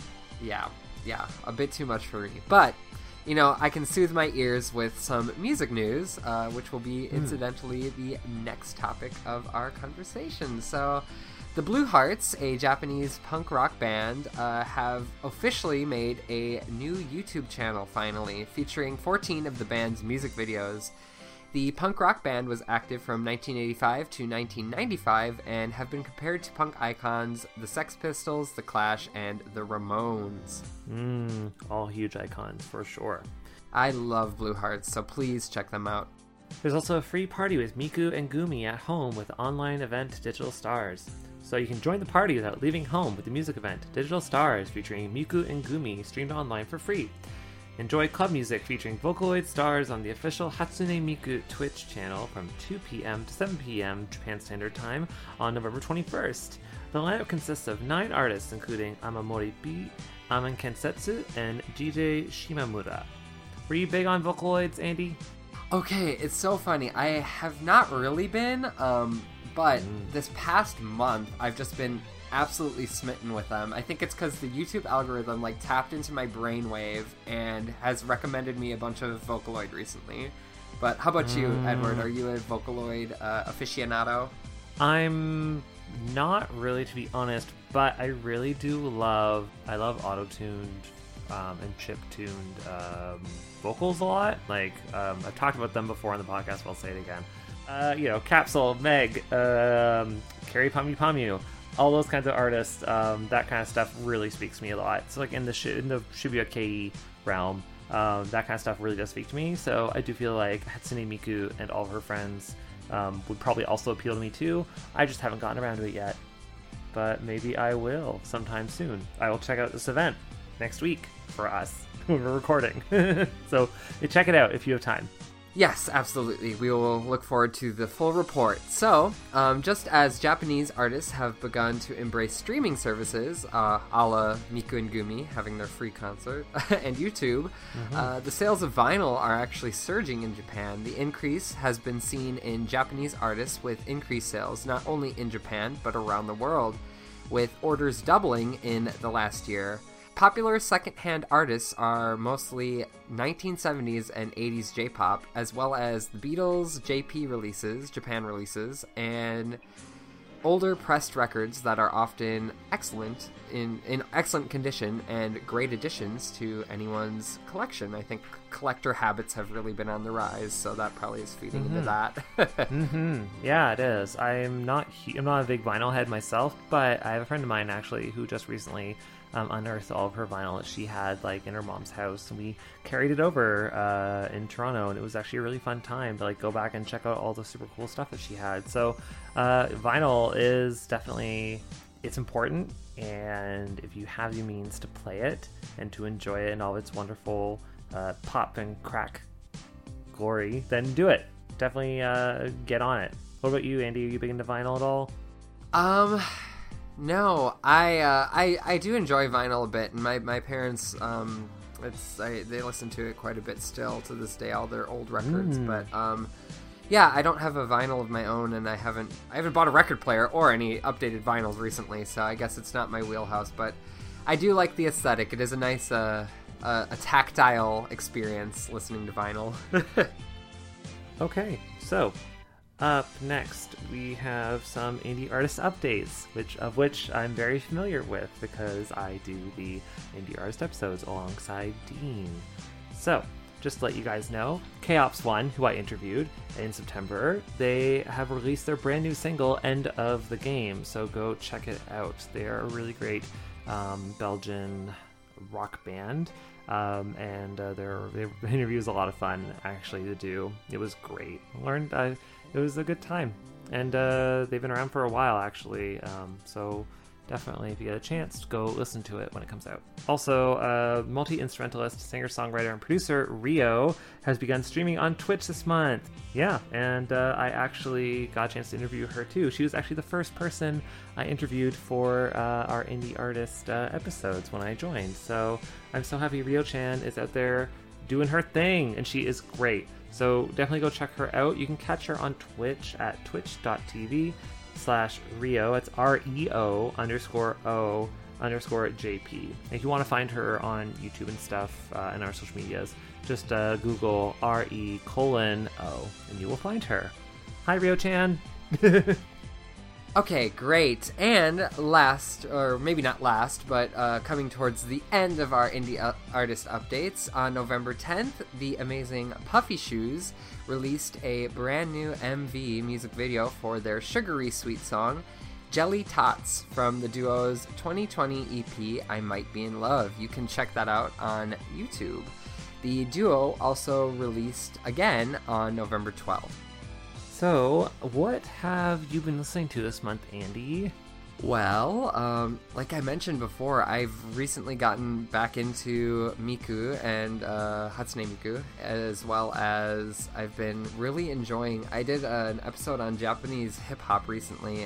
Yeah, a bit too much for me. But, you know, I can soothe my ears with some music news, which will be, incidentally, the next topic of our conversation. So, the Blue Hearts, a Japanese punk rock band, have officially made a new YouTube channel, finally, featuring 14 of the band's music videos. The punk rock band was active from 1985 to 1995 and have been compared to punk icons the Sex Pistols, the Clash, and the Ramones. All huge icons, for sure. I love Blue Hearts, so please check them out. There's also a free party with Miku and Gumi at home with the online event Digital Stars. So you can join the party without leaving home with the music event Digital Stars featuring Miku and Gumi streamed online for free. Enjoy club music featuring Vocaloid stars on the official Hatsune Miku Twitch channel from 2 p.m. to 7 p.m. Japan Standard Time on November 21st. The lineup consists of 9 artists including Amamori B, Aman Kensetsu, and DJ Shimamura. Were you big on Vocaloids, Andy? Okay, it's so funny. I have not really been, but this past month I've just been absolutely smitten with them. I think it's because the YouTube algorithm tapped into my brainwave and has recommended me a bunch of Vocaloid recently. But how about you, Edward? Are you a Vocaloid aficionado? I'm not really, to be honest, but I really do love auto-tuned and chip-tuned vocals a lot. I've talked about them before on the podcast, but I'll say it again. Capsule, Meg, Carrie Pamu Pamu, all those kinds of artists, that kind of stuff really speaks to me a lot. So in the Shibuya Kei realm, that kind of stuff really does speak to me. So I do feel like Hatsune Miku and all of her friends would probably also appeal to me too. I just haven't gotten around to it yet, but maybe I will sometime soon. I will check out this event next week for us when we're recording. So check it out if you have time. Yes, absolutely. We will look forward to the full report. So, just as Japanese artists have begun to embrace streaming services, a la Miku and Gumi having their free concert, and YouTube, the sales of vinyl are actually surging in Japan. The increase has been seen in Japanese artists with increased sales, not only in Japan, but around the world, with orders doubling in the last year. Popular second-hand artists are mostly 1970s and 80s J-pop, as well as the Beatles, JP releases, Japan releases, and older pressed records that are often excellent in excellent condition and great additions to anyone's collection. I think collector habits have really been on the rise, so that probably is feeding into that. Yeah, it is. I'm not a big vinyl head myself, but I have a friend of mine actually who just recently unearthed all of her vinyl that she had in her mom's house, and we carried it over in Toronto, and it was actually a really fun time to go back and check out all the super cool stuff that she had. So vinyl is definitely, it's important, and if you have the means to play it and to enjoy it in all its wonderful pop and crack glory, then do it. Definitely get on it. What about you, Andy? Are you big into vinyl at all? No, I do enjoy vinyl a bit, and my parents, they listen to it quite a bit still to this day, all their old records. But yeah, I don't have a vinyl of my own, and I haven't bought a record player or any updated vinyls recently, so I guess it's not my wheelhouse. But I do like the aesthetic. It is a nice a tactile experience listening to vinyl. Okay, so Up next, we have some indie artist updates, which I'm very familiar with because I do the indie artist episodes alongside Dean. So, just to let you guys know, K-Ops1, who I interviewed in September, they have released their brand new single, End of the Game, so go check it out. They are a really great Belgian rock band, and their interview is a lot of fun, actually, to do. It was great. It was a good time, and they've been around for a while, actually, so definitely, if you get a chance, go listen to it when it comes out. Also, multi-instrumentalist, singer-songwriter, and producer Rio has begun streaming on Twitch this month. Yeah, and I actually got a chance to interview her too. She was actually the first person I interviewed for our indie artist episodes when I joined. So I'm so happy Rio-chan is out there doing her thing, and she is great. So definitely go check her out. You can catch her on Twitch at twitch.tv/Rio. It's REO_O_JP. If you want to find her on YouTube and stuff and our social medias, just Google RE:O and you will find her. Hi, Rio-chan. Okay, great. And last, or maybe not last, but coming towards the end of our indie artist updates, on November 10th, the amazing Puffy Shoes released a brand new MV music video for their sugary sweet song, Jelly Tots, from the duo's 2020 EP, I Might Be in Love. You can check that out on YouTube. The duo also released again on November 12th. So, what have you been listening to this month, Andy? Well, like I mentioned before, I've recently gotten back into Miku and Hatsune Miku, as well as I've been really enjoying... I did an episode on Japanese hip-hop recently,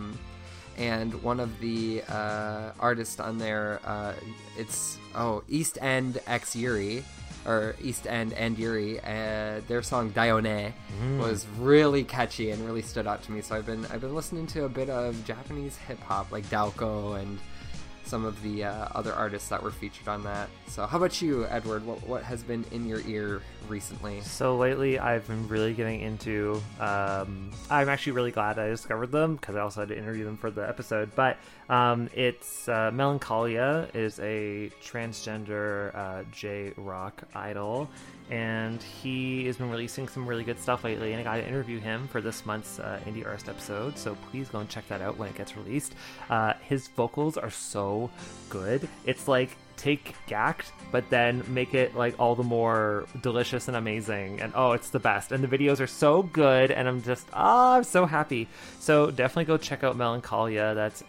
and one of the artists on there, it's East End X Yuri, or East End and Yuri, their song Daione was really catchy and really stood out to me. So I've been listening to a bit of Japanese hip hop, like Daoko and some of the other artists that were featured on that. So how about you, Edward? What has been in your ear recently? So lately I've been really getting into, I'm actually really glad I discovered them because I also had to interview them for the episode, but it's Melancholia is a transgender J-rock idol, and he has been releasing some really good stuff lately, and I got to interview him for this month's Indie Artist episode, so please go and check that out when it gets released. His vocals are so good. It's like take Gact, but then make it like all the more delicious and amazing, and it's the best, and the videos are so good, and I'm just I'm so happy. So definitely go check out Melancholia. That's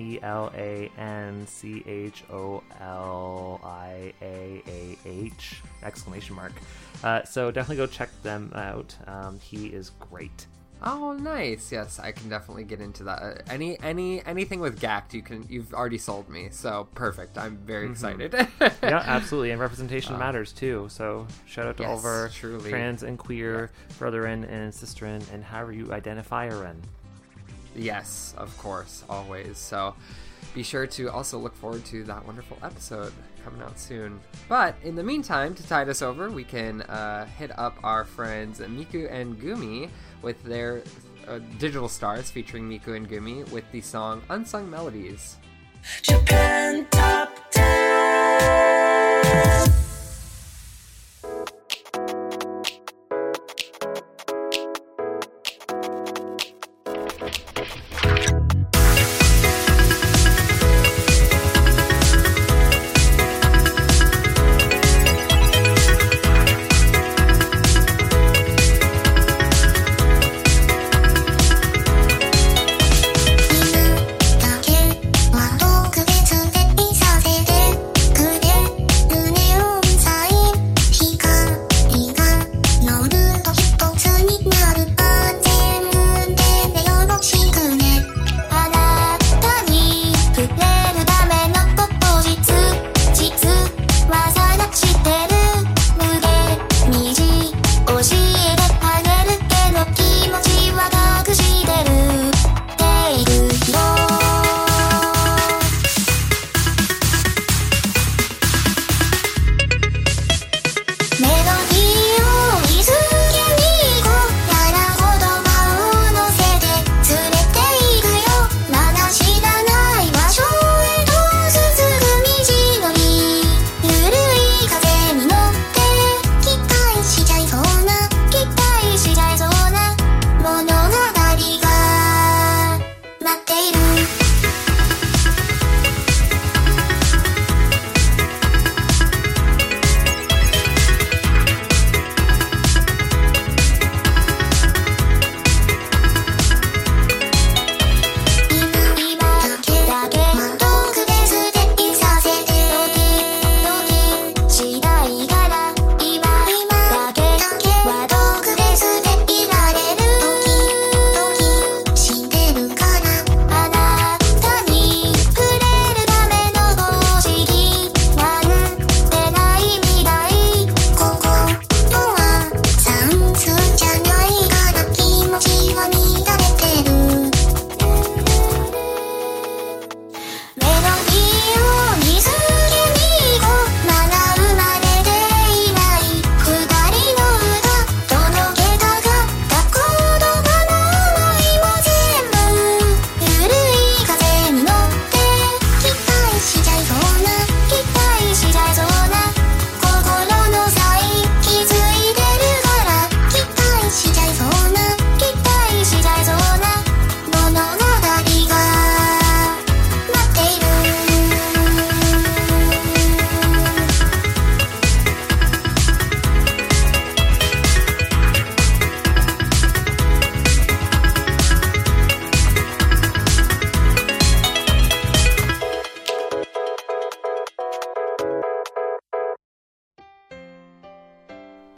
MELANCHOLIAAH ! So definitely go check them out. He is great. Oh, nice. Yes, I can definitely get into that. Anything with Gact, you've already sold me. So perfect. I'm very excited. Yeah, absolutely. And representation matters too. So shout out to all of our trans and queer brethren and sisterin, and however you identify or in. Yes, of course, always. So be sure to also look forward to that wonderful episode coming out soon. But in the meantime, to tide us over, we can hit up our friends Miku and Gumi with their digital stars featuring Miku and Gumi with the song Unsung Melodies. Japan Top 10.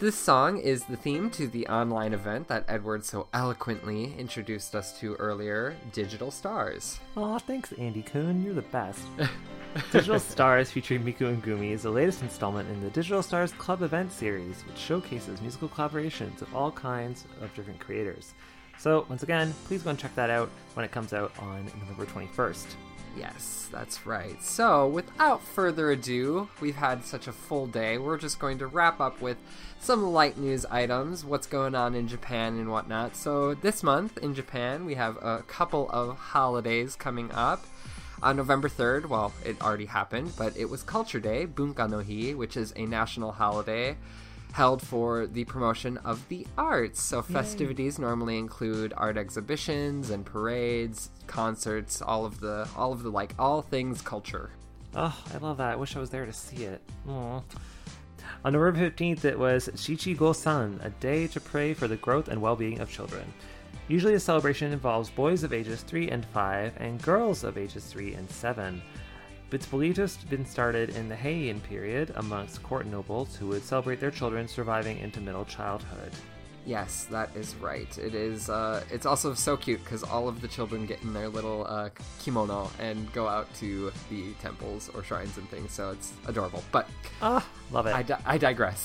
this song is the theme to the online event that Edward so eloquently introduced us to earlier, Digital Stars. Aw, thanks, Andy Kuhn. You're the best. Digital Stars featuring Miku and Gumi is the latest installment in the Digital Stars Club event series, which showcases musical collaborations of all kinds of different creators. So, once again, please go and check that out when it comes out on November 21st. Yes, that's right. So, without further ado, we've had such a full day. We're just going to wrap up with some light news items, what's going on in Japan and whatnot. So, this month in Japan, we have a couple of holidays coming up. On November 3rd, well, it already happened, but it was Culture Day, Bunka no Hi, which is a national holiday held for the promotion of the arts. So festivities normally include art exhibitions and parades, concerts, all of the like all things culture. Oh, I love that. I wish I was there to see it. Aww. On November 15th, it was Shichi-Go-san, a day to pray for the growth and well-being of children. Usually the celebration involves boys of ages 3 and 5 and girls of ages 3 and 7. It's believed to have been started in the Heian period amongst court nobles who would celebrate their children surviving into middle childhood. Yes, that is right. It is. It's also so cute because all of the children get in their little kimono and go out to the temples or shrines and things. So it's adorable. But love it. I digress.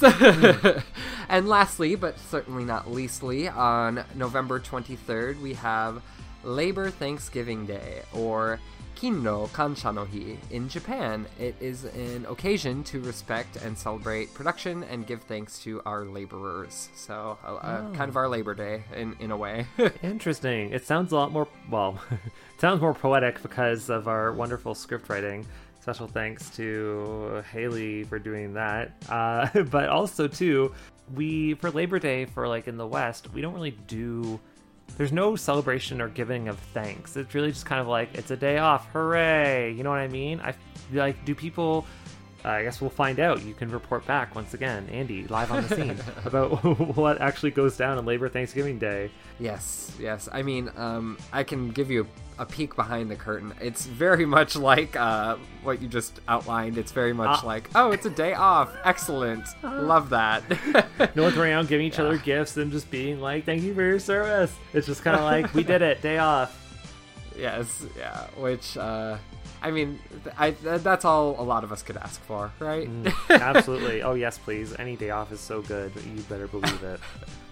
And lastly, but certainly not leastly, on November 23rd, we have Labor Thanksgiving Day, or Kinno Kansha no Hi in Japan. It is an occasion to respect and celebrate production and give thanks to our laborers. So, kind of our Labor Day in a way. Interesting. It sounds a lot more, well, it sounds more poetic because of our wonderful script writing. Special thanks to Haley for doing that. But also, too, for Labor Day, for like in the West, we don't really do... There's no celebration or giving of thanks. It's really just kind of like, it's a day off. Hooray! You know what I mean? Do people... I guess we'll find out. You can report back once again, Andy, live on the scene, about what actually goes down on Labor Thanksgiving Day. Yes. I mean, I can give you a peek behind the curtain. It's very much like what you just outlined. It's very much like, oh, it's a day off. Excellent. Love that. North around giving each other gifts and just being like, thank you for your service. It's just kind of like, we did it. Day off. Yes. Yeah. Which... I mean, that's all a lot of us could ask for, right? Absolutely. Oh, yes, please. Any day off is so good. You better believe it.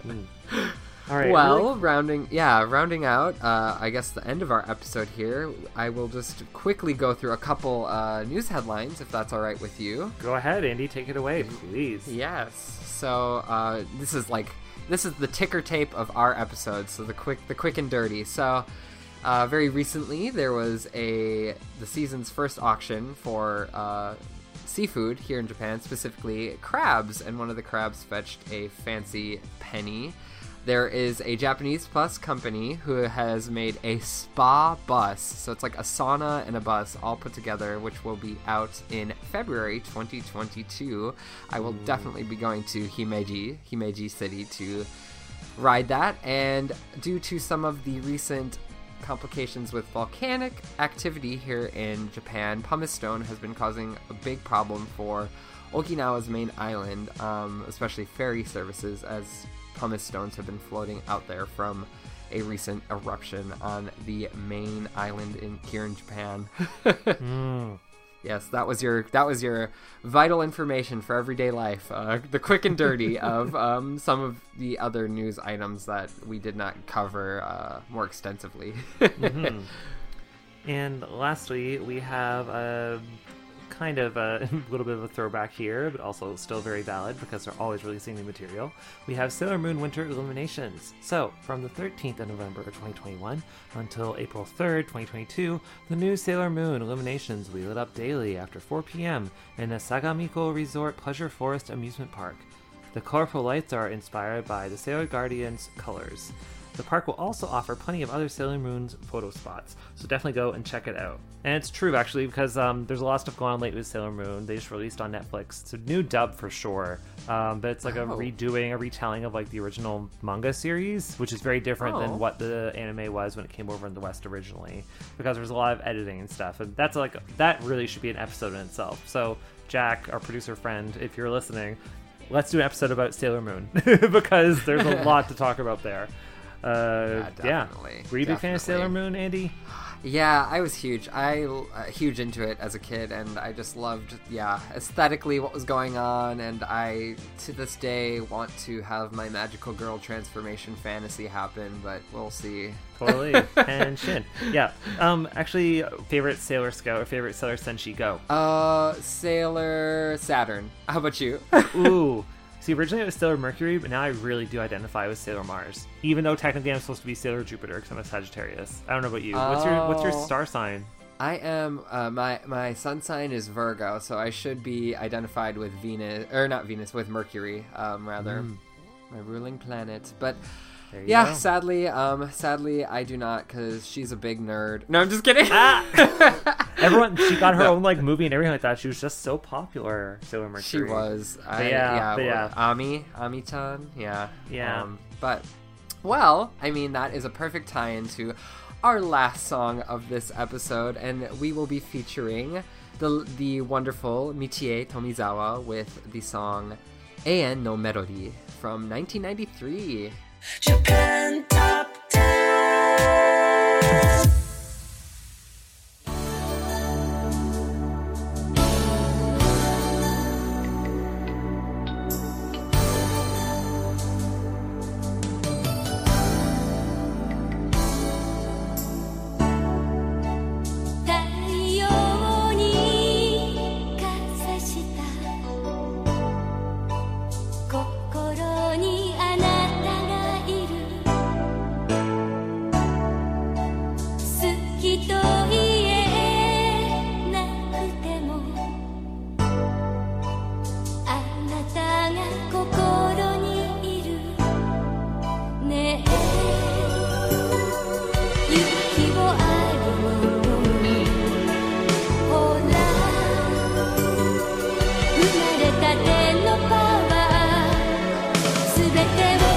All right. Well, rounding out, I guess the end of our episode here, I will just quickly go through a couple news headlines, if that's all right with you. Go ahead, Andy. Take it away, please. Yes. So this is the ticker tape of our episode, so the quick and dirty. So... very recently, there was the season's first auction for seafood here in Japan, specifically crabs, and one of the crabs fetched a fancy penny. There is a Japanese bus company who has made a spa bus, so it's like a sauna and a bus all put together, which will be out in February 2022. I will definitely be going to Himeji City to ride that, and due to some of the recent complications with volcanic activity here in Japan, pumice stone has been causing a big problem for Okinawa's main island, especially ferry services, as pumice stones have been floating out there from a recent eruption on the main island here in Japan. Yes, that was your vital information for everyday life. The quick and dirty of some of the other news items that we did not cover more extensively. And lastly, we have a kind of a little bit of a throwback here, but also still very valid because they're always releasing new material. We have Sailor Moon Winter Illuminations. So, from the 13th of November 2021 until April 3rd, 2022, the new Sailor Moon Illuminations will be lit up daily after 4 p.m. in the Sagamiko Resort Pleasure Forest Amusement Park. The colorful lights are inspired by the Sailor Guardian's colors. The park will also offer plenty of other Sailor Moon's photo spots, so definitely go and check it out. And it's true, actually, because there's a lot of stuff going on lately with Sailor Moon. They just released on Netflix. It's a new dub for sure, but it's like a retelling of like the original manga series, which is very different than what the anime was when it came over in the West originally, because there's a lot of editing and stuff, and that really should be an episode in itself. So Jack, our producer friend, if you're listening, let's do an episode about Sailor Moon because there's a lot to talk about there. Definitely. Were you a big fan of Sailor Moon, Andy? Yeah, I was huge. Huge into it as a kid, and I just loved, aesthetically what was going on, and I, to this day, want to have my magical girl transformation fantasy happen, but we'll see. Totally. And Shin. Yeah. Actually, favorite Sailor Scout or favorite Sailor Senshi, go. Sailor Saturn. How about you? Ooh. See, originally it was Sailor Mercury, but now I really do identify with Sailor Mars. Even though technically I'm supposed to be Sailor Jupiter because I'm a Sagittarius. I don't know about you. What's your star sign? I am, my sun sign is Virgo, so I should be identified with with Mercury, rather. My ruling planet. But yeah, sadly, I do not, because she's a big nerd. No, I'm just kidding. She got her own like movie and everything like that. She was just so popular, Sailor Mercury. She was. Ami-chan, yeah. But, well, I mean, that is a perfect tie-in to our last song of this episode, and we will be featuring the wonderful Michie Tomizawa with the song Eien no Melody from 1993. Japan Top 10.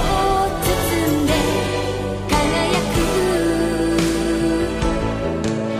「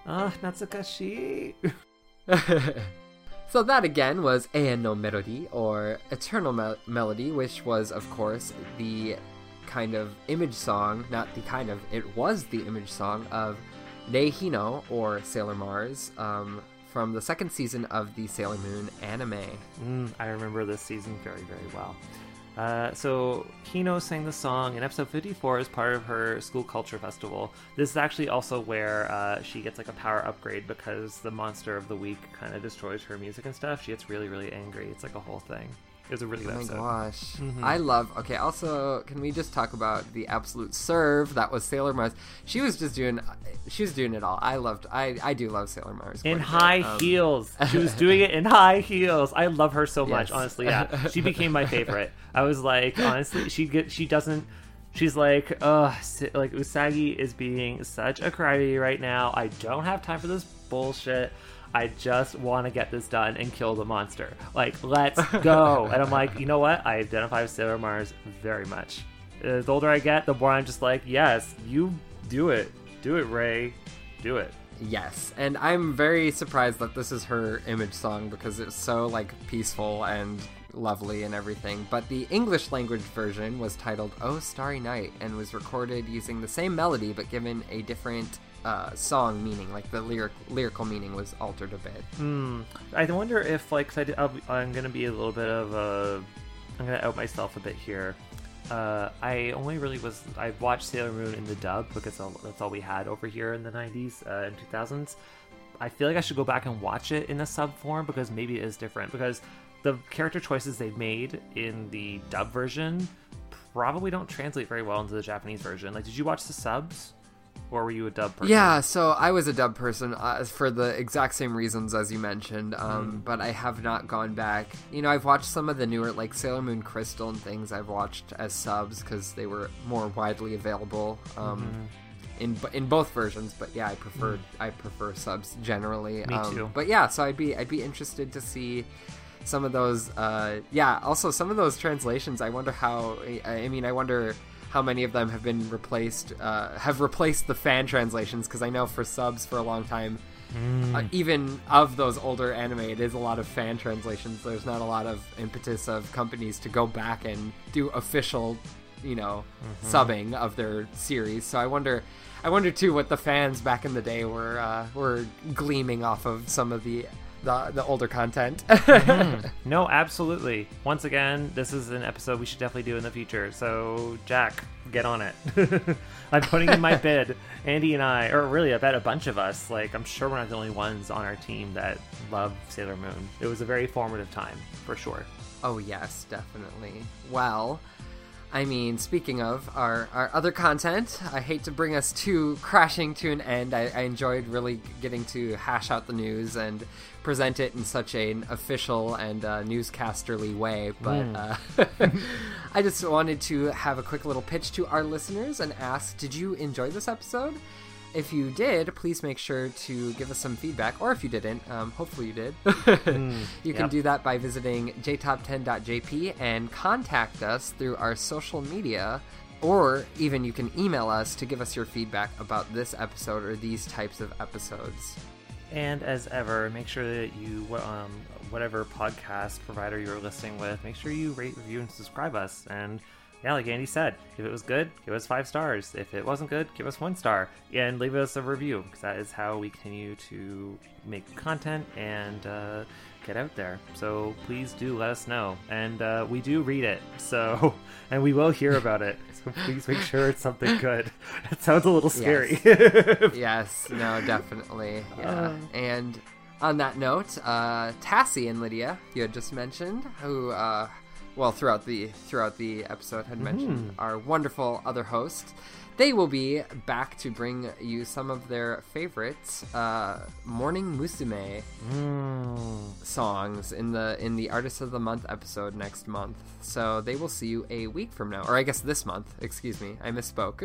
Natsukashi. So that again was Eien no Melody, or Eternal Melody, which was, of course, the kind of image song, not the kind of, it was the image song of Rei Hino, or Sailor Mars, from the second season of the Sailor Moon anime. I remember this season very, very well. So Hino sang the song in episode 54 as part of her school culture festival. This is actually also where she gets like a power upgrade because the monster of the week kind of destroys her music and stuff. She gets really, really angry. It's like a whole thing. It was a really good episode. Oh my gosh. I love... Okay, also, can we just talk about the absolute serve that was Sailor Mars? She was doing it all. I do love Sailor Mars. In high heels. She was doing it in high heels. I love her so much, honestly. Yeah, she became my favorite. I was like, honestly, she's like, like Usagi is being such a crybaby right now. I don't have time for this bullshit. I just want to get this done and kill the monster. Like, let's go. And I'm like, you know what? I identify with Sailor Mars very much. The older I get, the more I'm just like, yes, you do it. Do it, Rei. Do it. Yes. And I'm very surprised that this is her image song because it's so, like, peaceful and lovely and everything. But the English language version was titled Oh Starry Night and was recorded using the same melody but given a different song meaning, like the lyrical meaning was altered a bit. I wonder if, like, I'm gonna be a little bit of I'm gonna out myself a bit here. I watched Sailor Moon in the dub because that's all we had over here in the 90s and 2000s. I feel like I should go back and watch it in the sub form because maybe it is different, because the character choices they've made in the dub version probably don't translate very well into the Japanese version. Like, did you watch the subs? Or were you a dub person? Yeah, so I was a dub person for the exact same reasons as you mentioned, but I have not gone back. You know, I've watched some of the newer, like Sailor Moon Crystal and things I've watched as subs because they were more widely available in both versions. But yeah, I prefer subs generally. Me too. But yeah, so I'd be interested to see some of those. Also some of those translations. I wonder how many of them have been replaced the fan translations, because I know for subs for a long time, even of those older anime, it is a lot of fan translations. There's not a lot of impetus of companies to go back and do official, subbing of their series. So I wonder too what the fans back in the day were gleaming off of some of the older content. No, absolutely. Once again, this is an episode we should definitely do in the future. So, Jack, get on it. I'm putting in my bid. Andy and I, or really, I bet a bunch of us, like, I'm sure we're not the only ones on our team that love Sailor Moon. It was a very formative time, for sure. Oh, yes, definitely. Well, I mean, speaking of our other content, I hate to bring us crashing to an end. I enjoyed really getting to hash out the news and present it in such an official and newscasterly way. But I just wanted to have a quick little pitch to our listeners and ask, did you enjoy this episode? If you did, please make sure to give us some feedback. Or if you didn't, hopefully you did. You can do that by visiting jtop10.jp and contact us through our social media. Or even you can email us to give us your feedback about this episode or these types of episodes. And as ever, make sure that you, whatever podcast provider you're listening with, make sure you rate, review, and subscribe us. And yeah, like Andy said, if it was good, give us 5 stars. If it wasn't good, give us 1 star. And leave us a review, because that is how we continue to make content and get out there. So please do let us know. And we do read it, so, and we will hear about it. So please make sure it's something good. It sounds a little scary. Yes, no, definitely. Yeah. And on that note, Tassie and Lydia, you had just mentioned, who... throughout the episode had mentioned our wonderful other hosts. They will be back to bring you some of their favorites Morning Musume songs in the Artist of the Month episode next month. So they will see you a week from now, or I guess this month. Excuse me, I misspoke.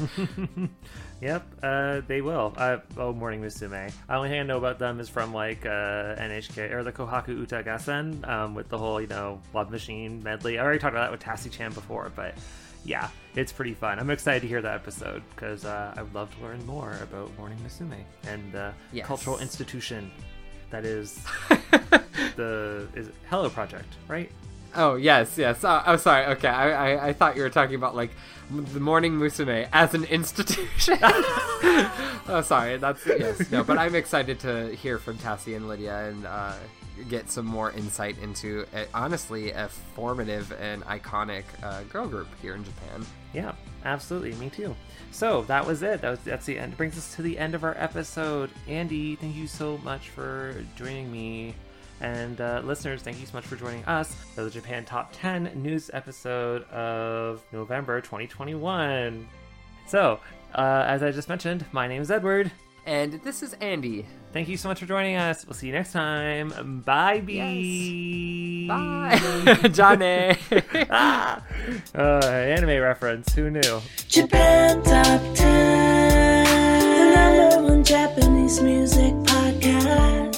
Yep, they will. Morning Musume. The only thing I know about them is from like NHK or the Kohaku Uta Gassen with the whole Love Machine medley. I already talked about that with Tassie Chan before, but yeah, it's pretty fun. I'm excited to hear that episode because I would love to learn more about Morning Musume and the cultural institution that is is Hello Project, right? Oh, yes. Oh, sorry. Okay, I thought you were talking about, like, the Morning Musume as an institution. Oh, sorry. Yes. No, but I'm excited to hear from Tassie and Lydia and get some more insight into, honestly, a formative and iconic girl group here in Japan. Yeah, absolutely. Me too. So that was it. That's the end. It brings us to the end of our episode. Andy, thank you so much for joining me. And listeners, thank you so much for joining us for the Japan Top 10 news episode of November 2021. So, as I just mentioned, my name is Edward. And this is Andy. Thank you so much for joining us. We'll see you next time. Bye, B. Yes. Bye. Johnny. Anime reference. Who knew? Japan Top 10, the #1 Japanese music podcast.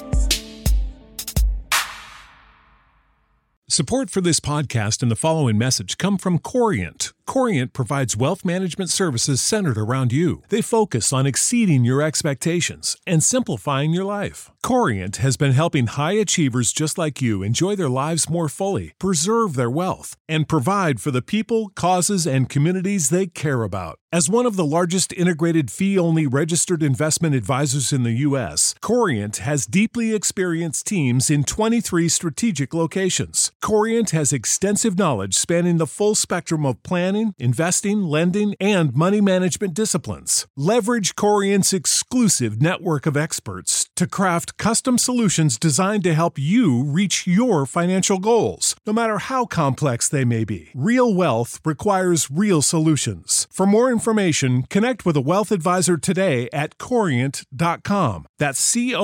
Support for this podcast and the following message come from Corient. Corient provides wealth management services centered around you. They focus on exceeding your expectations and simplifying your life. Corient has been helping high achievers just like you enjoy their lives more fully, preserve their wealth, and provide for the people, causes, and communities they care about. As one of the largest integrated fee-only registered investment advisors in the U.S., Corient has deeply experienced teams in 23 strategic locations. Corient has extensive knowledge spanning the full spectrum of planning, investing, lending, and money management disciplines. Leverage Corient's exclusive network of experts to craft custom solutions designed to help you reach your financial goals, no matter how complex they may be. Real wealth requires real solutions. For more information, connect with a wealth advisor today at Corient.com. That's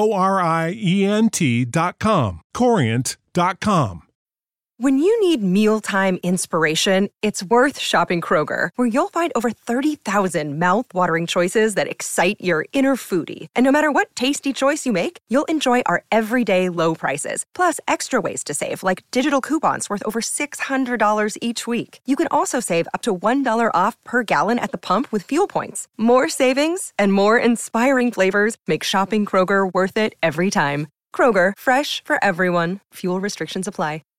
Corient.com. Corient.com. When you need mealtime inspiration, it's worth shopping Kroger, where you'll find over 30,000 mouth-watering choices that excite your inner foodie. And no matter what tasty choice you make, you'll enjoy our everyday low prices, plus extra ways to save, like digital coupons worth over $600 each week. You can also save up to $1 off per gallon at the pump with fuel points. More savings and more inspiring flavors make shopping Kroger worth it every time. Kroger, fresh for everyone. Fuel restrictions apply.